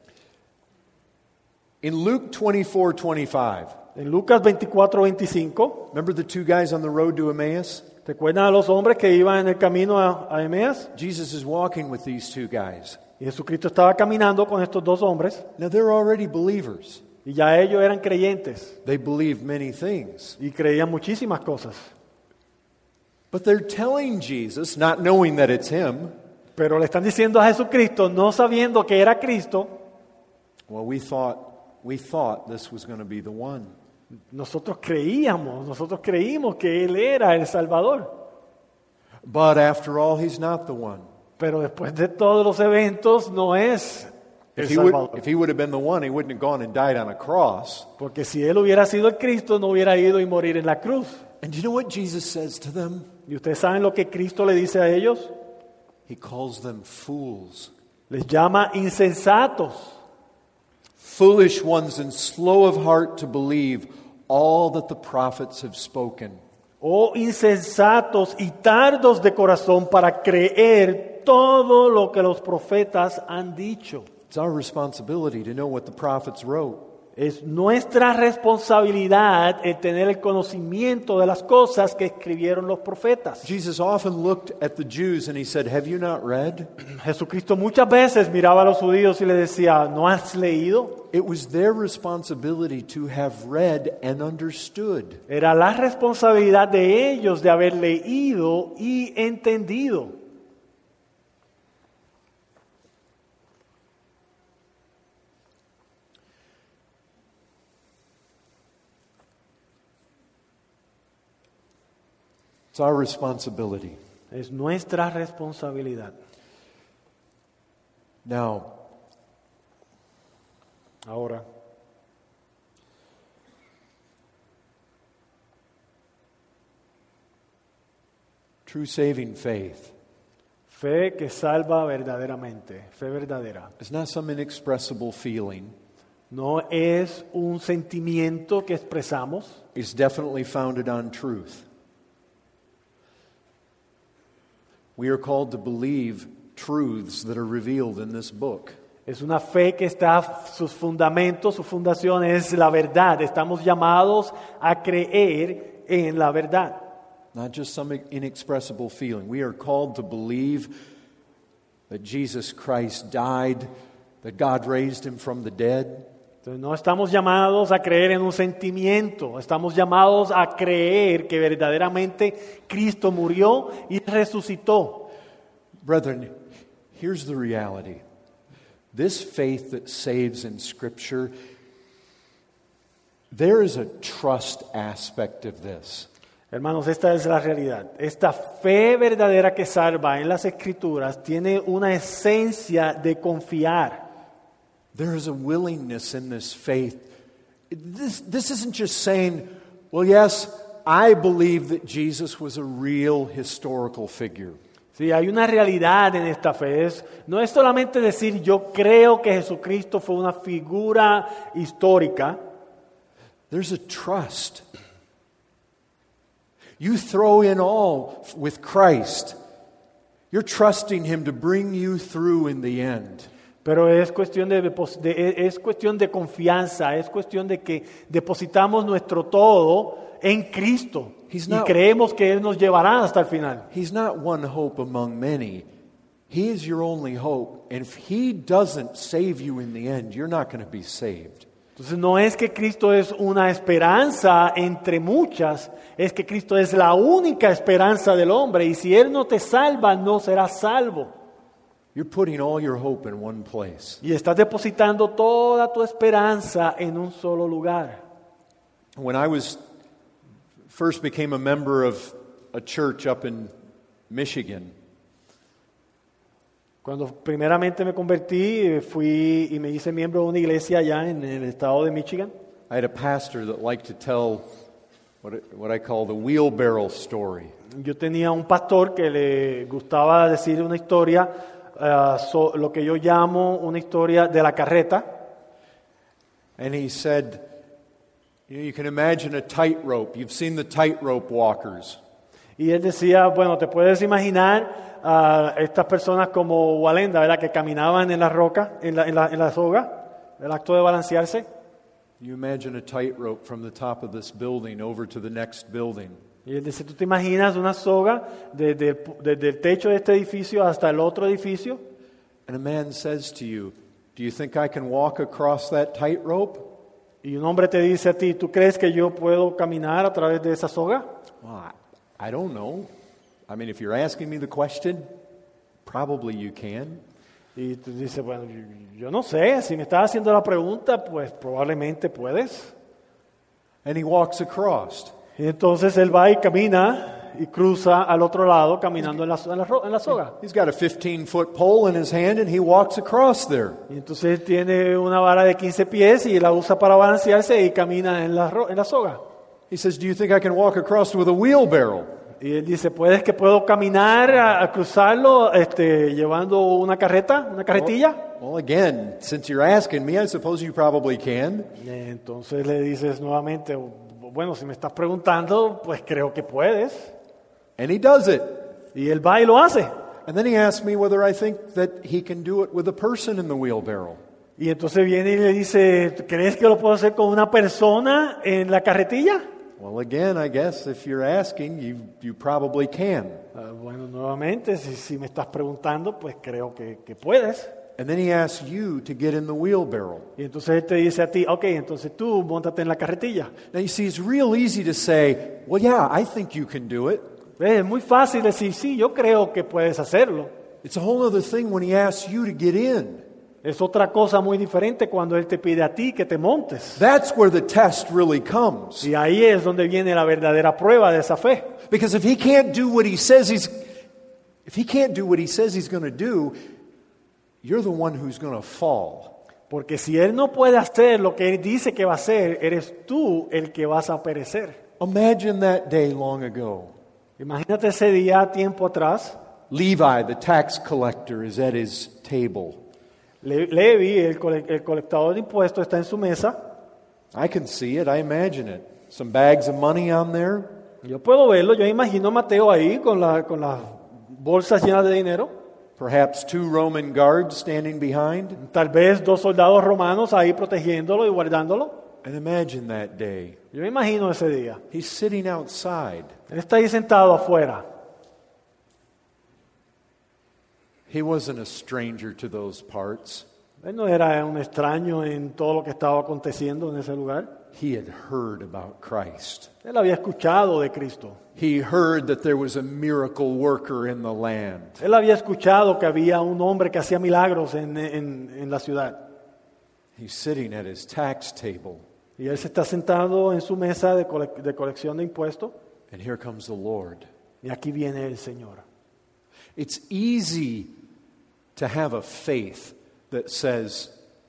In Luke 24:25, En Lucas 24:25, remember the two guys on the road to Emmaus? ¿recuerdan a los hombres que iban en el camino a Emeas? Jesus is walking with these two guys. Y Jesucristo estaba caminando con estos dos hombres Now they're already believers. y ya ellos eran creyentes They believe many things. y creían muchísimas cosas. But they're telling Jesus, not knowing that it's him, Pero le están diciendo a Jesucristo, no sabiendo que era Cristo, well, we thought this was going to be the one. nosotros creímos que Él era el Salvador. But after all, he's not the one. Pero después de todos los eventos, no es el If Salvador. he would have been the one, he wouldn't have gone and died on a cross. Porque si Él hubiera sido el Cristo, no hubiera ido y morir en la cruz. And do you know what Jesus says to them? ¿Y ustedes saben lo que Cristo le dice a ellos? He calls them fools. Les llama insensatos. Foolish ones and slow of heart to believe all that the prophets have spoken. Oh insensatos y tardos de corazón para creer todo lo que los profetas han dicho. It's our responsibility to know what the prophets wrote. Es nuestra responsabilidad el tener el conocimiento de las cosas que escribieron los profetas. Jesus often looked at the Jews and he said, "Have you not read?" Jesucristo muchas veces miraba a los judíos y les decía, ¿no has leído? It was their responsibility to have read and understood. Era la responsabilidad de ellos de haber leído y entendido. It's our responsibility. Es nuestra responsabilidad. Now, Ahora, true saving faith fe que salva verdaderamente, fe verdadera. is not some inexpressible feeling. No es un sentimiento que expresamos, It's definitely founded on truth. We are called to believe truths that are revealed in this book. es una fe que está, sus fundamentos, su fundación es la verdad. Estamos llamados a creer en la verdad. Not just some inexpressible feeling. We are called to believe that Jesus Christ died, that God raised him from the dead. Entonces, no estamos llamados a creer en un sentimiento, estamos llamados a creer que verdaderamente Cristo murió y resucitó. Brethren, here's the reality. This faith that saves in Scripture, there is a trust aspect of this. Hermanos, esta es la realidad. Esta fe verdadera que salva en las Escrituras tiene una esencia de confiar. There is a willingness in this faith. This isn't just saying, well, yes, I believe that Jesus was a real historical figure. Sí, hay una realidad en esta fe. No es solamente decir yo creo que Jesucristo fue una figura histórica. There's a trust. You throw in all with Christ. You're trusting Him to bring you through in the end. Pero es cuestión es cuestión de confianza, es cuestión de que depositamos nuestro todo en Cristo y creemos que Él nos llevará hasta el final. He's not one hope among many. He is your only hope. And if He doesn't save you in the end, you're not going to be saved. Entonces no es que Cristo es una esperanza entre muchas, es que Cristo es la única esperanza del hombre y si Él no te salva, no serás salvo. You're putting all your hope in one place. Y estás depositando toda tu esperanza en un solo lugar. When I first became a member of a church up in Michigan, Cuando primeramente me convertí, fui y me hice miembro de una iglesia allá en el estado de Michigan. I had a pastor that liked to tell what I call the wheelbarrow story. Yo tenía un pastor que le gustaba decir una historia, lo que yo llamo una historia de la carreta. And he said, you can imagine a tightrope. You've seen the tightrope walkers. Y él decía, bueno, te puedes imaginar estas personas como Walenda, ¿verdad? Que caminaban en la roca, en la soga, el acto de balancearse. You imagine a tightrope from the top of this building over to the next building. Y él dice, ¿tú te imaginas una soga desde el techo de este edificio hasta el otro edificio? And a man says to you, do you think I can walk across that tightrope? Y un hombre te dice a ti, ¿tú crees que yo puedo caminar a través de esa soga? Well, I don't know. I mean, if you're asking me the question, probably you can. Y tú dices, bueno, yo no sé, si me estás haciendo la pregunta, pues probablemente puedes. And he walks across. Y entonces él va y camina y cruza al otro lado caminando en la soga. He's got a 15-foot pole in his hand and he walks across there. Y entonces tiene una vara de 15 pies y la usa para balancearse y camina en la soga. He says, "Do you think I can walk across with a wheelbarrow?" Y él dice, ¿puedo caminar a cruzarlo llevando una carretilla? Well, again, since you're asking me, I suppose you probably can. Entonces le dices nuevamente, bueno, si me estás preguntando, pues creo que puedes. And he does it. Y él va y lo hace. And then he asks me whether I think that he can do it with a person in the wheelbarrow. Y entonces viene y le dice, ¿crees que lo puedo hacer con una persona en la carretilla? Well, again, I guess if you're asking, you probably can. Bueno, nuevamente, si me estás preguntando, pues creo que puedes. And then he asks you to get in the wheelbarrow. Y entonces él te dice a ti, ok, entonces tú móntate en la carretilla. Now you see, it's real easy to say, well, yeah, I think you can do it. Es muy fácil decir, sí, yo creo que puedes hacerlo. It's a whole other thing when he asks you to get in. Es otra cosa muy diferente cuando él te pide a ti que te montes. That's where the test really comes. Y ahí es donde viene la verdadera prueba de esa fe. Because if he can't do what he says he's going to do, you're the one who's going to fall. Porque si él no puede hacer lo que él dice que va a hacer, eres tú el que vas a perecer. Imagine that day long ago. Imagínate ese día tiempo atrás. Levi, the tax collector, is at his table. Levi, el colectador de impuestos, está en su mesa. I can see it, I imagine it. Some bags of money on there. Yo puedo verlo, yo imagino a Mateo ahí con las bolsas llenas de dinero. Perhaps 2 Roman guards standing behind. Tal vez 2 soldados romanos ahí protegiéndolo y guardándolo. And imagine that day. Yo me imagino ese día. He's sitting outside. Él está ahí sentado afuera. He wasn't a stranger to those parts. Él no era un extraño en todo lo que estaba aconteciendo en ese lugar. He had heard about Christ. Él había escuchado de Cristo. He heard that there was a miracle worker in the land. Él había escuchado que había un hombre que hacía milagros en la ciudad. He's sitting at his tax table. Y él se está sentado en su mesa de colección de impuestos. And here comes the Lord. Y aquí viene el Señor. It's easy to have a faith that says,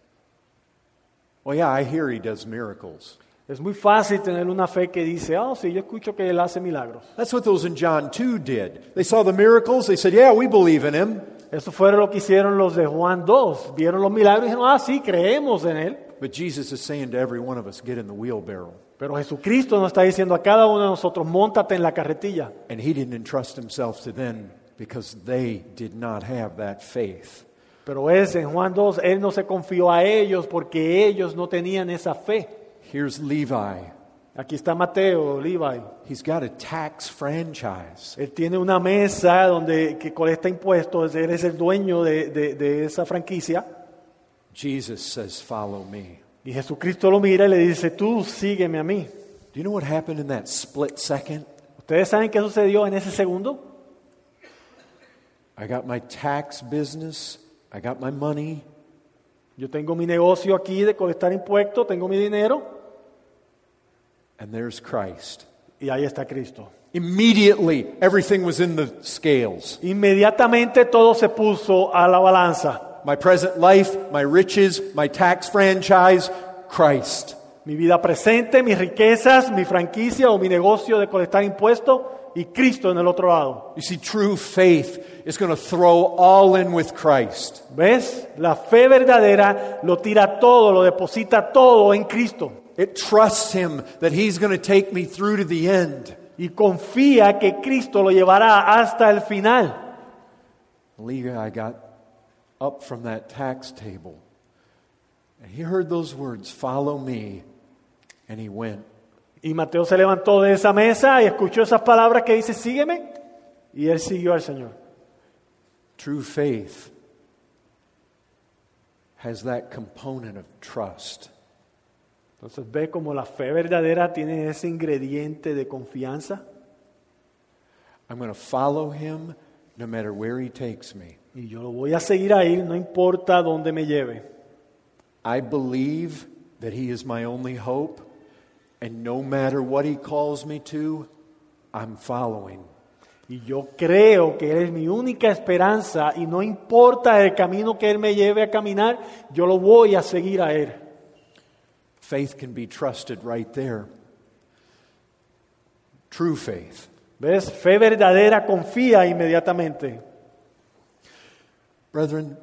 well, yeah, I hear he does miracles. Es muy fácil tener una fe que dice, sí, yo escucho que él hace milagros. That's what those in John 2 did. They saw the miracles, they said, yeah, we believe in him. Eso fue lo que hicieron los de Juan 2. Vieron los milagros y dijeron, sí, creemos en él. But Jesus is saying to every one of us, get in the wheelbarrow. Pero Jesucristo nos está diciendo a cada uno de nosotros, móntate en la carretilla. And he didn't entrust himself to them because they did not have that faith. Pero en Juan 2, él no se confió a ellos porque ellos no tenían esa fe. Here's Levi. Aquí está Mateo, Levi. He's got a tax franchise. Él tiene una mesa que colecta impuestos, él es el dueño de esa franquicia. Jesus says, follow me. Y Jesucristo lo mira y le dice, tú sígueme a mí. Do you know what happened in that split second? ¿Ustedes saben qué sucedió en ese segundo? I got my tax business. I got my money. Yo tengo mi negocio aquí de colectar impuestos, tengo mi dinero. And there's Christ. Y ahí está Cristo. Immediately, everything was in the scales. Inmediatamente todo se puso a la balanza. My present life, my riches, my tax franchise, Christ. Mi vida presente, mis riquezas, mi franquicia o mi negocio de colectar impuestos y Cristo en el otro lado. You see, true faith is going to throw all in with Christ. ¿Ves? La fe verdadera lo tira todo, lo deposita todo en Cristo. It trusts Him that He's going to take me through to the end. Y confía que Cristo lo llevará hasta el final. Levi got up from that tax table, and he heard those words, follow me, and he went. Y Mateo se levantó de esa mesa y escuchó esas palabras que dice, sígueme, y él siguió al Señor. True faith has that component of trust. Entonces ve como la fe verdadera tiene ese ingrediente de confianza. I'm going to follow him no matter where he takes me. Y yo lo voy a seguir a él, no importa dónde me lleve. I believe that he is my only hope, and no matter what he calls me to, I'm following. Y yo creo que él es mi única esperanza y no importa el camino que él me lleve a caminar, yo lo voy a seguir a él. Faith can be trusted right there. True faith. ¿Ves? Fe verdadera confía inmediatamente. Brethren,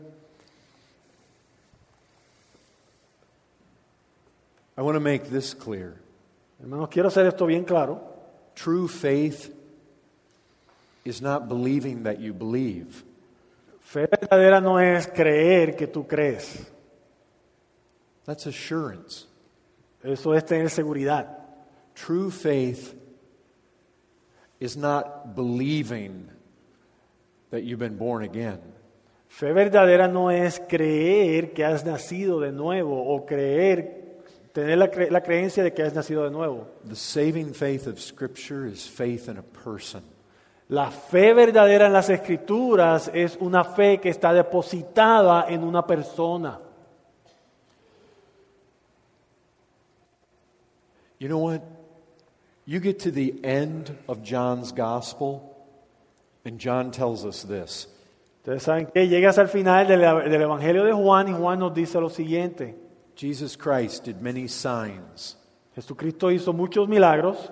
I want to make this clear. Hermanos, quiero hacer esto bien claro. True faith is not believing that you believe. Fe verdadera no es creer que tú crees. That's assurance. Eso es tener seguridad. True faith is not believing that you've been born again. Fe verdadera no es creer que has nacido de nuevo o tener la creencia de que has nacido de nuevo. The saving faith of Scripture is faith in a person. La fe verdadera en las Escrituras es una fe que está depositada en una persona. You know what? You get to the end of John's Gospel, and John tells us this. Ustedes saben que llegas al final del Evangelio de Juan y Juan nos dice lo siguiente. Jesus Christ did many signs, Jesucristo hizo muchos milagros,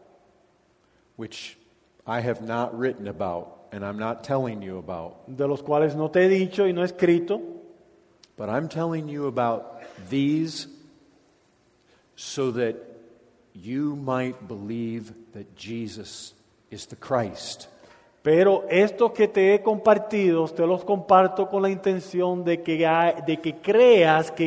which I have not written about, and I'm not telling you about. de los cuales no te he dicho y no he escrito, But I'm telling you about these so that you might believe that Jesus is the Christ. pero estos que te he compartido, te los comparto con la intención de que creas que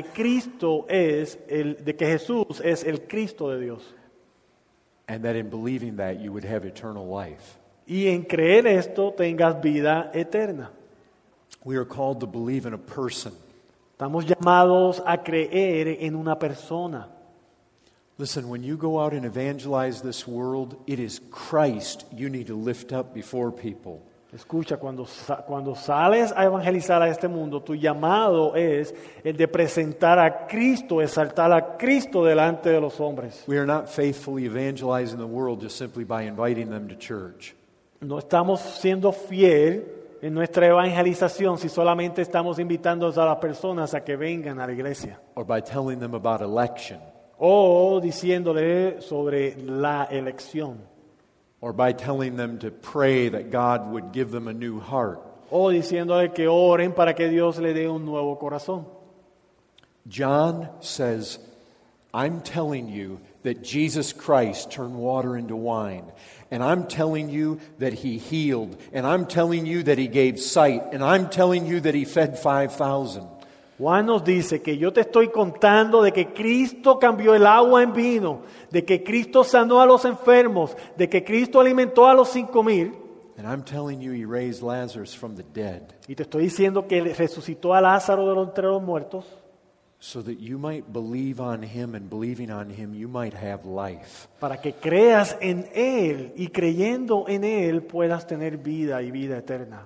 de que Jesús es el Cristo de Dios. And that in believing that you would have eternal life. Y en creer esto tengas vida eterna. We are called to believe in a person. Estamos llamados a creer en una persona. Listen, when you go out and evangelize this world, it is Christ you need to lift up before people. Escucha, cuando sales a evangelizar a este mundo, tu llamado es el de presentar a Cristo, exaltar a Cristo delante de los hombres. We are not faithfully evangelizing the world just simply by inviting them to church. No estamos siendo fiel en nuestra evangelización si solamente estamos invitando a las personas a que vengan a la iglesia. Or by telling them about election. O diciéndole sobre la elección. Or by telling them to pray that God would give them a new heart. O diciéndole que oren para que Dios le dé un nuevo corazón. John says, I'm telling you that Jesus Christ turned water into wine. And I'm telling you that He healed. And I'm telling you that He gave sight. And I'm telling you that He fed 5,000. Juan nos dice que yo te estoy contando de que Cristo cambió el agua en vino, de que Cristo sanó a los enfermos, de que Cristo alimentó a los 5,000. And I'm telling you He raised Lazarus from the dead. Y te estoy diciendo que Él resucitó a Lázaro entre los muertos. So that you might believe on Him, and believing on Him you might have life. Para que creas en Él y creyendo en Él puedas tener vida y vida eterna.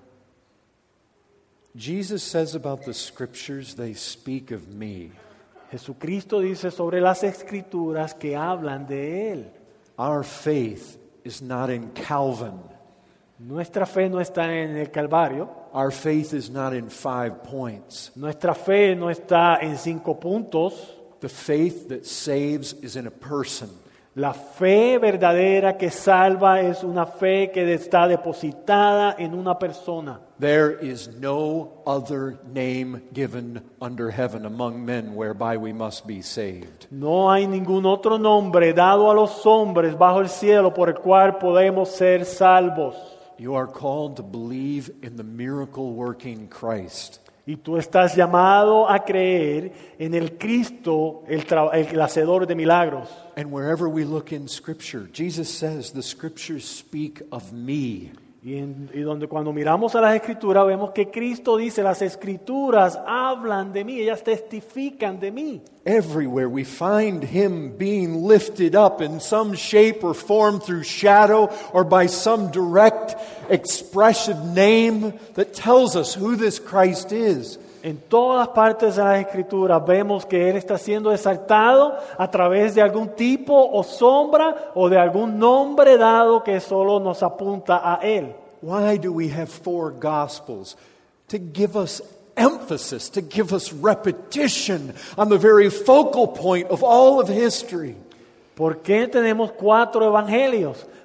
Jesus says about the Scriptures, they speak of me. Jesucristo dice sobre las Escrituras que hablan de Él. Our faith is not in Calvin. Nuestra fe no está en el Calvario. Our faith is not in 5 points. Nuestra fe no está en 5 puntos. The faith that saves is in a person. La fe verdadera que salva es una fe que está depositada en una persona. There is no other name given under heaven among men whereby we must be saved. No hay ningún otro nombre dado a los hombres bajo el cielo por el cual podemos ser salvos. You are called to believe in the miracle-working Christ. Y tú estás llamado a creer en el Cristo, el hacedor de milagros. And wherever we look in Scripture, Jesus says, the Scriptures speak of me. Y donde cuando miramos a las Escrituras vemos que Cristo dice, las Escrituras hablan de mí, ellas testifican de mí. Everywhere we find Him being lifted up in some shape or form through shadow or by some direct expressive name that tells us who this Christ is. En todas partes de las Escrituras vemos que Él está siendo exaltado a través de algún tipo o sombra o de algún nombre dado que solo nos apunta a Él. Why do we have 4 Gospels? To give us emphasis, to give us repetition on the very focal point of all of history. ¿Por qué tenemos 4 evangelios?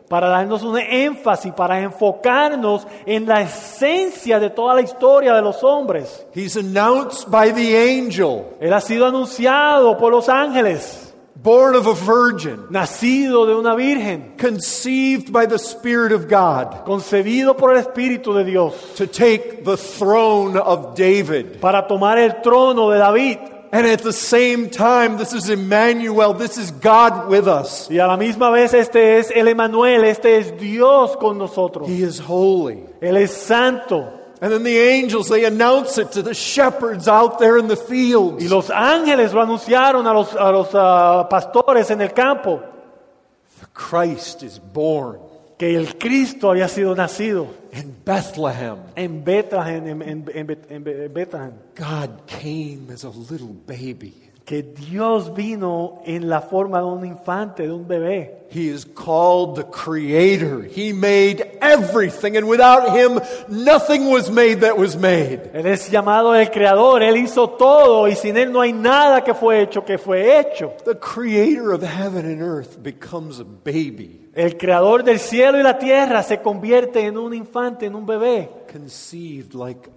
para darnos un énfasis, para enfocarnos en la esencia de toda la historia de los hombres. He's announced by the angel, Él ha sido anunciado por los ángeles, born of a virgin, nacido de una virgen, conceived by the Spirit of God, concebido por el Espíritu de Dios, to take the throne of David. para tomar el trono de David. And at the same time, this is Emmanuel, this is God with us. Y a la misma vez este es el Emanuel, este es Dios con nosotros. He is holy. Él es santo. And then the angels, they announce it to the shepherds out there in the fields. Y los ángeles lo anunciaron a los pastores en el campo, The Christ is born que el Cristo había sido nacido in Bethlehem. en Betlehem, en Betlehem. God came as a little baby. Que Dios vino en la forma de un infante, de un bebé. He is called the Creator. He made everything, and without Him, nothing was made that was made. Él es llamado el Creador, Él hizo todo y sin Él no hay nada que fue hecho. The Creator of heaven and earth becomes a baby, El Creador del cielo y la tierra se convierte en un infante, en un bebé. conceived like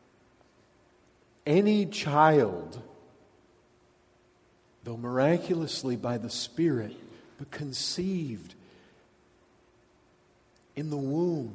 any child, though miraculously by the Spirit, but conceived in the womb,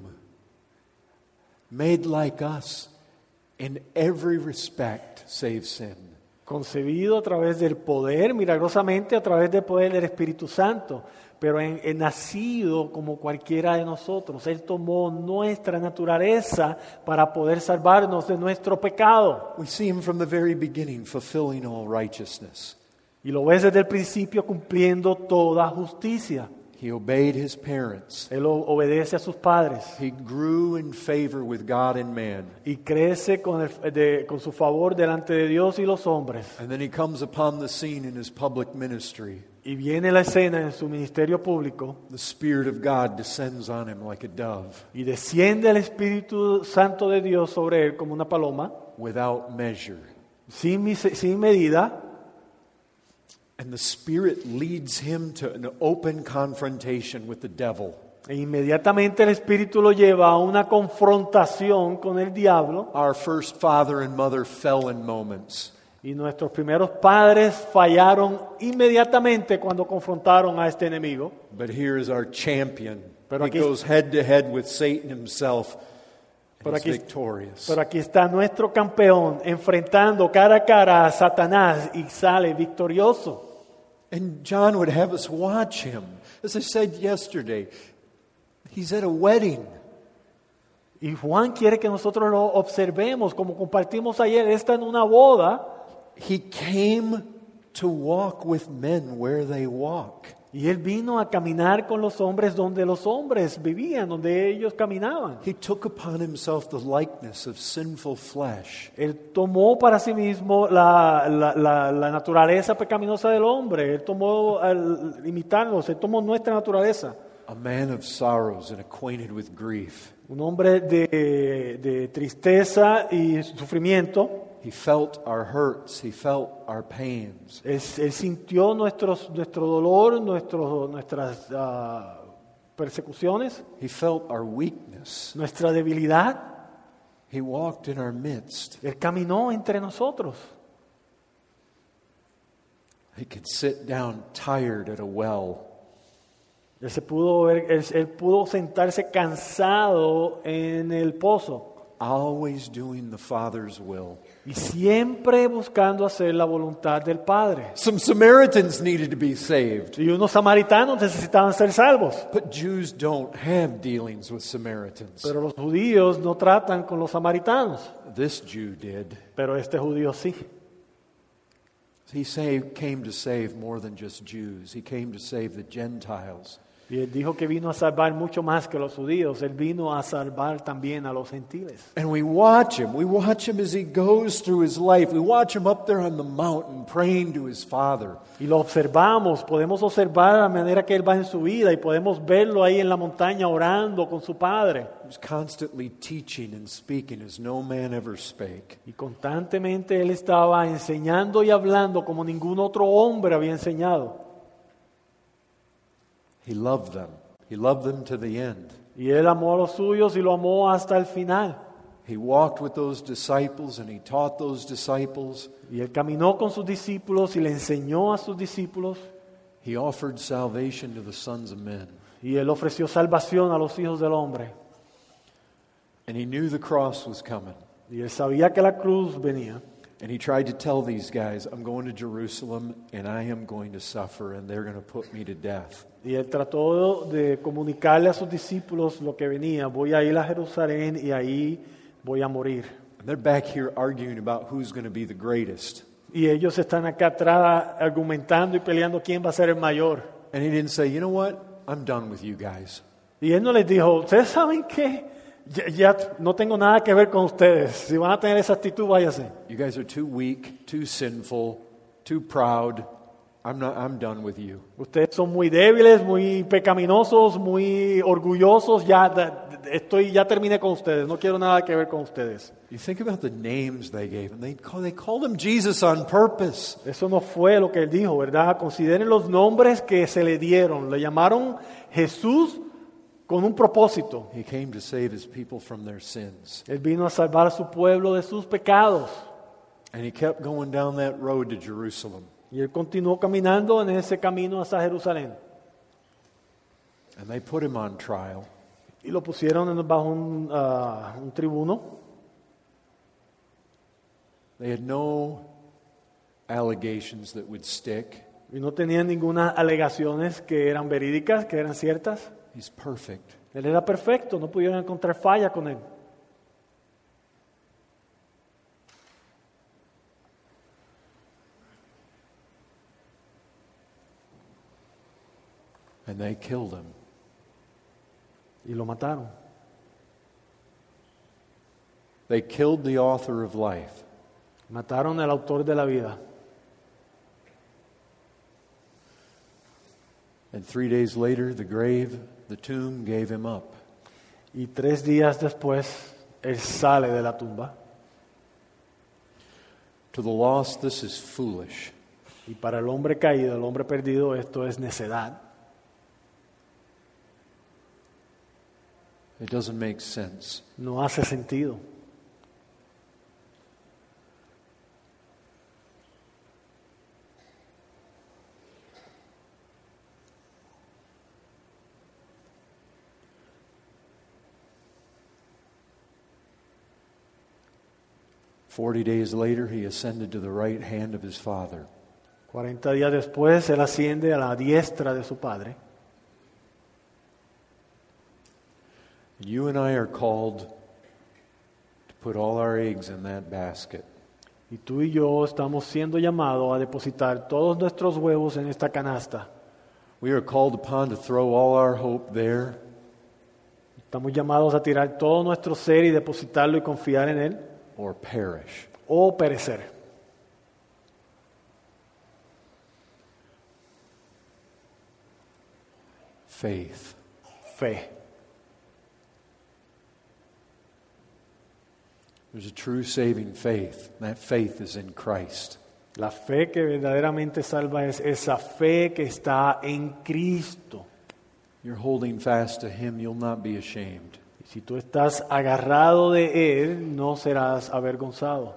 made like us in every respect save sin. Concebido a través del poder, milagrosamente a través del poder del Espíritu Santo, pero nacido como cualquiera de nosotros. Él tomó nuestra naturaleza para poder salvarnos de nuestro pecado. We see Him from the very beginning fulfilling all righteousness. Y lo ves desde el principio cumpliendo toda justicia. He obeyed His parents. Él obedece a sus padres He grew in favor with God and man. y crece con su favor delante de Dios y los hombres. And then He comes upon the scene in His public ministry. Y viene la escena en su ministerio público The Spirit of God descends on Him like a dove, y desciende el Espíritu Santo de Dios sobre él como una paloma, without measure. sin medida. And the Spirit leads Him to an open confrontation with the devil. E inmediatamente el Espíritu lo lleva a una confrontación con el diablo. Our first father and mother fell in moments. Y nuestros primeros padres fallaron inmediatamente cuando confrontaron a este enemigo. But here is our champion. Pero He aquí- goes head to head with Satan himself. Pero He's aquí- victorious. Pero aquí está nuestro campeón enfrentando cara a cara a Satanás y sale victorioso. And John would have us watch him. As I said yesterday, he's at a wedding. Y Juan quiere que nosotros lo observemos, como compartimos ayer. Él está en una boda He came to walk with men where they walk. y él vino a caminar con los hombres donde los hombres vivían, donde ellos caminaban. He took upon himself the likeness of sinful flesh. Él tomó para sí mismo la naturaleza pecaminosa del hombre. Él tomó al imitarnos, él tomó nuestra naturaleza. A man of sorrows and acquainted with grief. Un hombre de tristeza y sufrimiento. He felt our hurts. He felt our pains. Él sintió nuestro dolor, nuestras persecuciones, He felt our weakness. nuestra debilidad. He walked in our midst. Él caminó entre nosotros. He could sit down tired at a well. Él pudo sentarse cansado en el pozo Always doing the Father's will. y siempre buscando hacer la voluntad del Padre. Some Samaritans needed to be saved, Y unos samaritanos necesitaban ser salvos, but Jews don't have dealings with Samaritans. pero los judíos no tratan con los samaritanos, This Jew did. pero este judío sí. Came to save more than just Jews. He came to save the Gentiles. Y él dijo que vino a salvar mucho más que los judíos. Él vino a salvar también a los gentiles. And we watch him. We watch him as he goes through his life. We watch him up there on the mountain praying to his Father. Y lo observamos, podemos observar la manera que él va en su vida y podemos verlo ahí en la montaña orando con su Padre. He was constantly teaching and speaking as no man ever spake. Y constantemente él estaba enseñando y hablando como ningún otro hombre había enseñado. He loved them. He loved them to the end. Y Él amó a los suyos y lo amó hasta el final. He walked with those disciples and he taught those disciples. Y Él caminó con sus discípulos y le enseñó a sus discípulos. He offered salvation to the sons of men. Y Él ofreció salvación a los hijos del hombre. And he knew the cross was coming. Y Él sabía que la cruz venía. And he tried to tell these guys, I'm going to Jerusalem and I am going to suffer and they're going to put me to death. Y Él trató de comunicarle a sus discípulos lo que venía. Voy a ir a Jerusalén y ahí voy a morir. And they're back here arguing about who's going to be the greatest. Y ellos están acá atrás argumentando y peleando quién va a ser el mayor. And he didn't say, you know what? I'm done with you guys. Y Él no les dijo, ¿ustedes saben qué? Ya no tengo nada que ver con ustedes. Si van a tener esa actitud, váyase. You guys are too weak, too sinful, too proud. I'm done with you. Ustedes son muy débiles, muy pecaminosos, muy orgullosos. Ya terminé con ustedes. No quiero nada que ver con ustedes. You think about the names they gave him. They called him Jesus on purpose. Eso no fue lo que Él dijo, ¿verdad? Consideren los nombres que se le dieron. Le llamaron Jesús con un propósito. He came to save his people from their sins. Él vino a salvar a su pueblo de sus pecados. And he kept going down that road to Jerusalem. Y Él continuó caminando en ese camino hacia Jerusalén. And they put him on trial. Y lo pusieron bajo un tribuno. They had no allegations that would stick. Y no tenían ninguna alegaciones que eran verídicas, que eran ciertas. He's perfect. Él era perfecto, no pudieron encontrar falla con Él. And they killed him. Y lo mataron. They killed the author of life. Mataron al autor de la vida. And 3 days later, the tomb gave him up. Y 3 días después, Él sale de la tumba. To the lost, this is foolish. Y para el hombre caído, el hombre perdido, esto es necedad. It doesn't make sense. No hace sentido. Days later, he ascended to the right hand of his Father. 40 días después, Él asciende a la diestra de su Padre. You and I are called to put all our eggs in that basket. Y tú y yo estamos siendo llamados a depositar todos nuestros huevos en esta canasta. We are called upon to throw all our hope there. Estamos llamados a tirar todo nuestro ser y depositarlo y confiar en Él. Or perish. O perecer. Faith. Fe. There's a true saving faith. That faith is in Christ. La fe que verdaderamente salva es esa fe que está en Cristo. You're holding fast to Him, you'll not be ashamed. Si tú estás agarrado de Él, no serás avergonzado.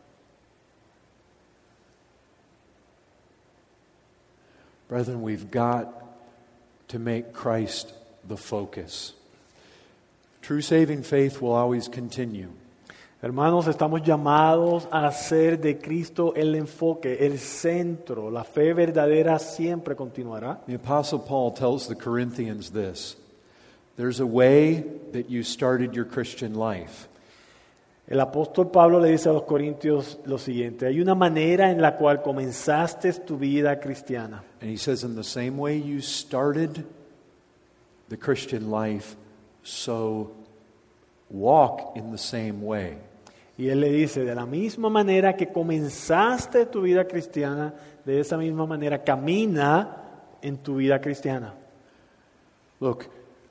Brethren, we've got to make Christ the focus. True saving faith will always continue. Hermanos, estamos llamados a hacer de Cristo el enfoque, el centro. La fe verdadera siempre continuará. The Apostle Paul tells the Corinthians this. There's a way that you started your Christian life. El apóstol Pablo le dice a los corintios lo siguiente: hay una manera en la cual comenzaste tu vida cristiana. And he says, in the same way you started the Christian life, so walk in the same way. Y él le dice, de la misma manera que comenzaste tu vida cristiana, de esa misma manera camina en tu vida cristiana. Look,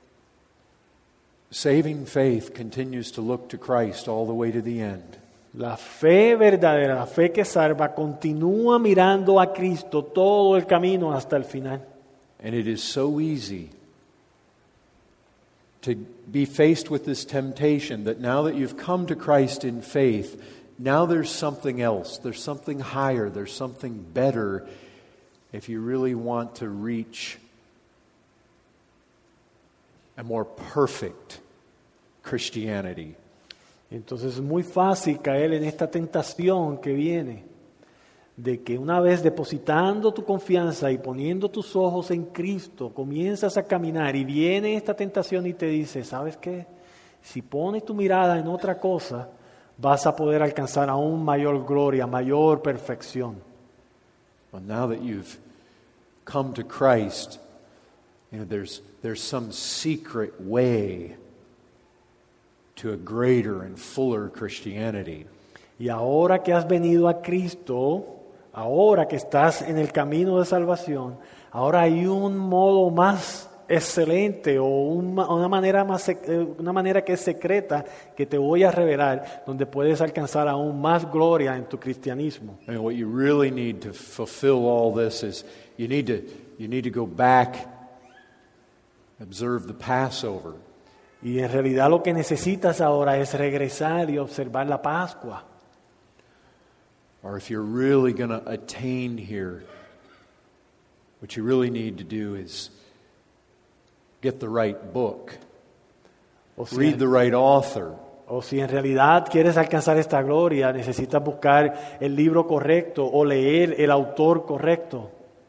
saving faith continues to look to Christ all the way to the end. La fe verdadera, la fe que salva, continúa mirando a Cristo todo el camino hasta el final. And it is so easy to be faced with this temptation that now that you've come to Christ in faith, now there's something else, there's something higher, there's something better if you really want to reach a more perfect Christianity. Entonces es muy fácil caer en esta tentación que viene de que una vez depositando tu confianza y poniendo tus ojos en Cristo, comienzas a caminar y viene esta tentación y te dice, ¿sabes qué? Si pones tu mirada en otra cosa, vas a poder alcanzar aún mayor gloria, mayor perfección. Well, now that you've come to Christ, there's some secret way to a greater and fuller Christianity. Y ahora que has venido a Cristo, ahora que estás en el camino de salvación, ahora hay un modo más excelente o una manera que es secreta que te voy a revelar, donde puedes alcanzar aún más gloria en tu cristianismo. And what you really need to fulfill all this is you need to go back, observe the Passover. Y en realidad lo que necesitas ahora es regresar y observar la Pascua. Or if you're really going to attain here, what you really need to do is get the right book, read the right author. O si en realidad quieres alcanzar esta gloria, necesitas buscar el libro correcto o leer el autor correcto.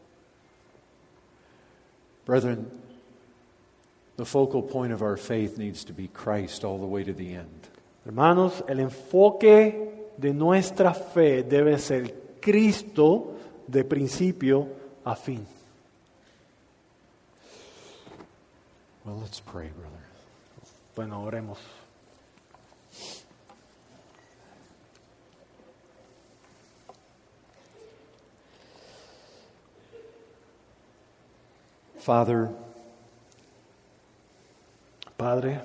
Brethren, the focal point of our faith needs to be Christ all the way to the end. Hermanos, el enfoque de nuestra fe debe ser Cristo de principio a fin. Well, let's pray, brother. Bueno, oremos. Father, Padre,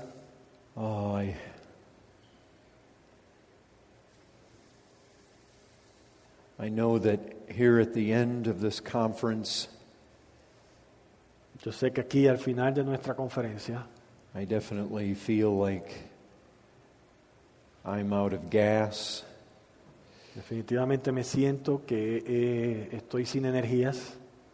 I know that here at the end of this conference, yo sé que aquí al final de nuestra conferencia, I definitely feel like I'm out of gas. definitivamente me siento que estoy sin energías.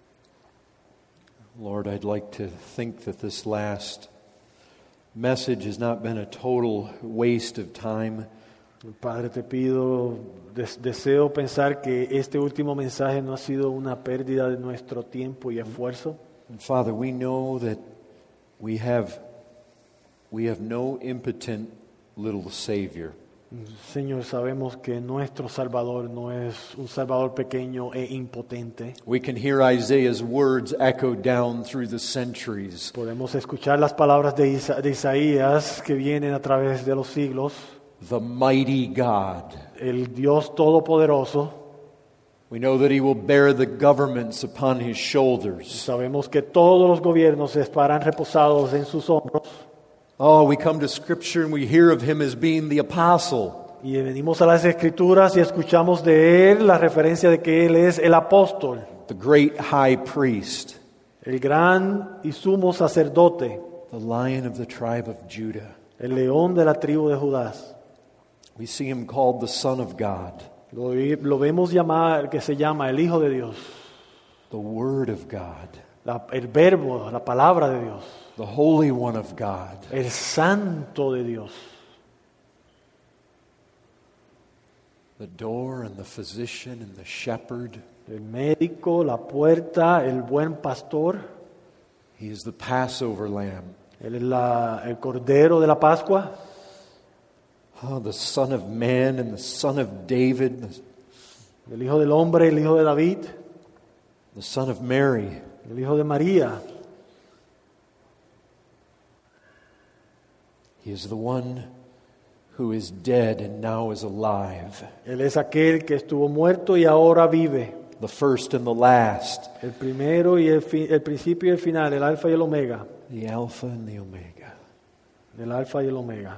Lord, I'd like to think that this last message has not been a total waste of time. Padre, te pido, deseo pensar que este último mensaje no ha sido una pérdida de nuestro tiempo y esfuerzo. And Father, we know that we have no impotent little Savior. Señor, sabemos que nuestro Salvador no es un Salvador pequeño e impotente. We can hear Isaiah's words echo down through the centuries. Podemos escuchar las palabras de Isaías que vienen a través de los siglos. The mighty God. El Dios Todopoderoso. We know that He will bear the governments upon His shoulders. Sabemos que todos los gobiernos estarán reposados en sus hombros. Oh, we come to Scripture and we hear of Him as being the apostle. Y venimos a las Escrituras y escuchamos de Él la referencia de que Él es el apóstol, The great high priest. el gran y sumo sacerdote, The Lion of the tribe of Judah. el león de la tribu de Judá. We see Him called the Son of God. Lo vemos llamar, que se llama el Hijo de Dios, The Word of God. el verbo, la palabra de Dios, The Holy One of God. el santo de Dios, The door and the physician and the shepherd. el médico, la puerta, el buen pastor. He is the Passover lamb. Él es el cordero de la Pascua, Oh, the Son of Man and the Son of David. el Hijo del Hombre, el Hijo de David, The Son of Mary. el Hijo de María. He is the one who is dead and now is alive. Él es aquel que estuvo muerto y ahora vive. The first and the last. El primero y el principio y el final, el alfa y el omega. The Alpha and the Omega. El alfa y el omega.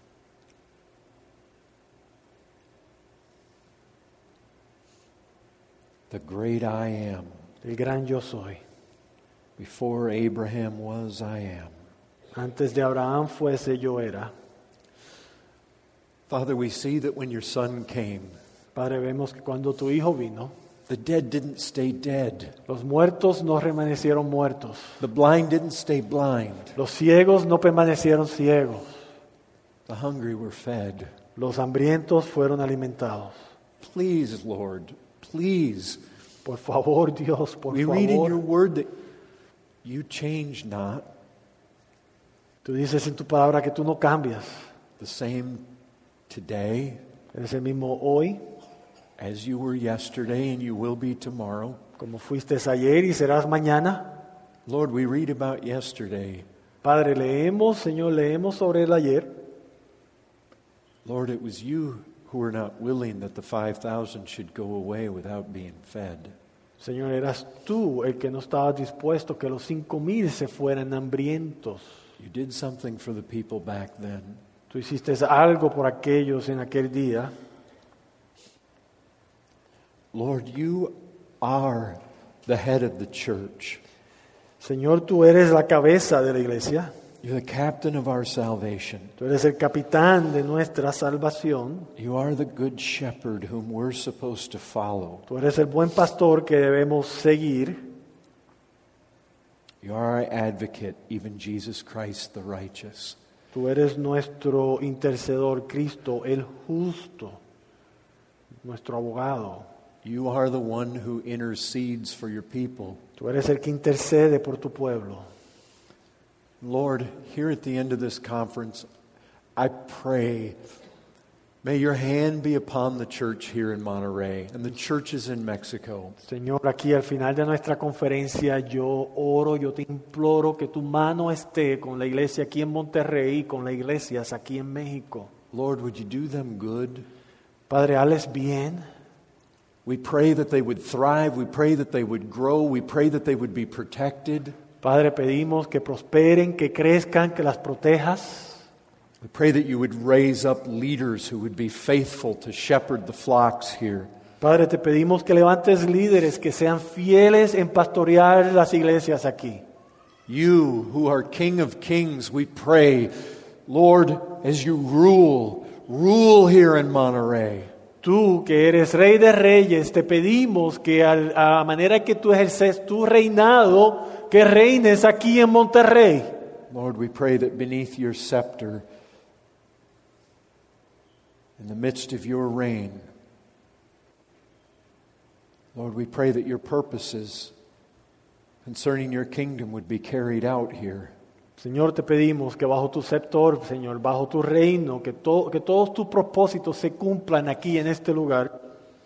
The great I am. El gran yo soy. Before Abraham was, I am. Antes de Abraham fuese, yo era. Father, we see that when your Son came, Padre, vemos que cuando tu Hijo vino, the dead didn't stay dead. los muertos no permanecieron muertos. The blind didn't stay blind. Los ciegos no permanecieron ciegos. The hungry were fed. Los hambrientos fueron alimentados. Please, Lord, please. Por favor, Dios, por We read in your favor. word that you change not. Tú dices en tu palabra que tú no cambias. The same today Eres el mismo hoy, as you were yesterday and you will be tomorrow. como fuiste ayer y serás mañana. Lord, we read about yesterday. Padre, Señor, leemos sobre el ayer. Lord, it was you who were not willing that the 5,000 should go away without being fed. Señor, eras tú el que no estabas dispuesto que los 5,000 se fueran hambrientos. You did something for the people back then. Tú hiciste algo por aquellos en aquel día. Lord, you are the head of the church. Señor, tú eres la cabeza de la iglesia. You're the captain of our salvation. Tú eres el capitán de nuestra salvación. You are the good shepherd whom we're supposed to follow. Tú eres el buen pastor que debemos seguir. You are our advocate, even Jesus Christ the righteous. Tú eres nuestro intercedor, Cristo el justo, nuestro abogado. You are the one who intercedes for your people. Tú eres el que intercede por tu pueblo. Lord, here at the end of this conference, I pray, may your hand be upon the church here in Monterrey and the churches in Mexico. Señor, aquí al final de nuestra conferencia yo oro, yo te imploro que tu mano esté con la iglesia aquí en Monterrey y con las iglesias aquí en México. Lord, would you do them good? Padre, hazles bien. We pray that they would thrive. We pray that they would grow. We pray that they would be protected. Padre, pedimos que prosperen, que crezcan, que las protejas. We pray that you would raise up leaders who would be faithful to shepherd the flocks here. Padre, te pedimos que levantes líderes que sean fieles en pastorear las iglesias aquí. You, who are King of Kings, we pray, Lord, as you rule here in Monterrey. Tú, que eres Rey de Reyes, te pedimos que a la manera que tú ejerces tu reinado, que reines aquí en Monterrey. Lord, we pray that beneath your scepter, in the midst of your reign, Lord, we pray that your purposes concerning your kingdom would be carried out here. Señor, te pedimos que bajo tu sceptor, Señor, bajo tu reino, que todos tus propósitos se cumplan aquí en este lugar.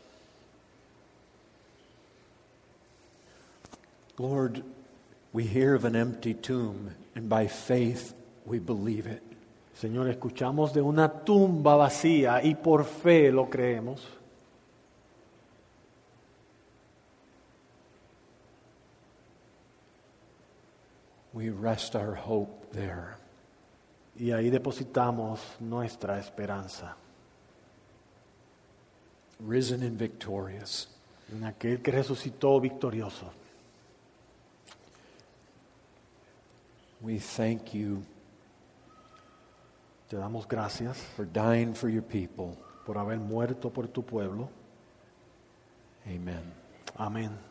Lord, we hear of an empty tomb, and by faith we believe it. Señor, escuchamos de una tumba vacía y por fe lo creemos. We rest our hope there. Y ahí depositamos nuestra esperanza Risen and victorious. en aquel que resucitó victorioso. We thank you Te damos gracias for dying for your people. por haber muerto por tu pueblo. Amen. Amén.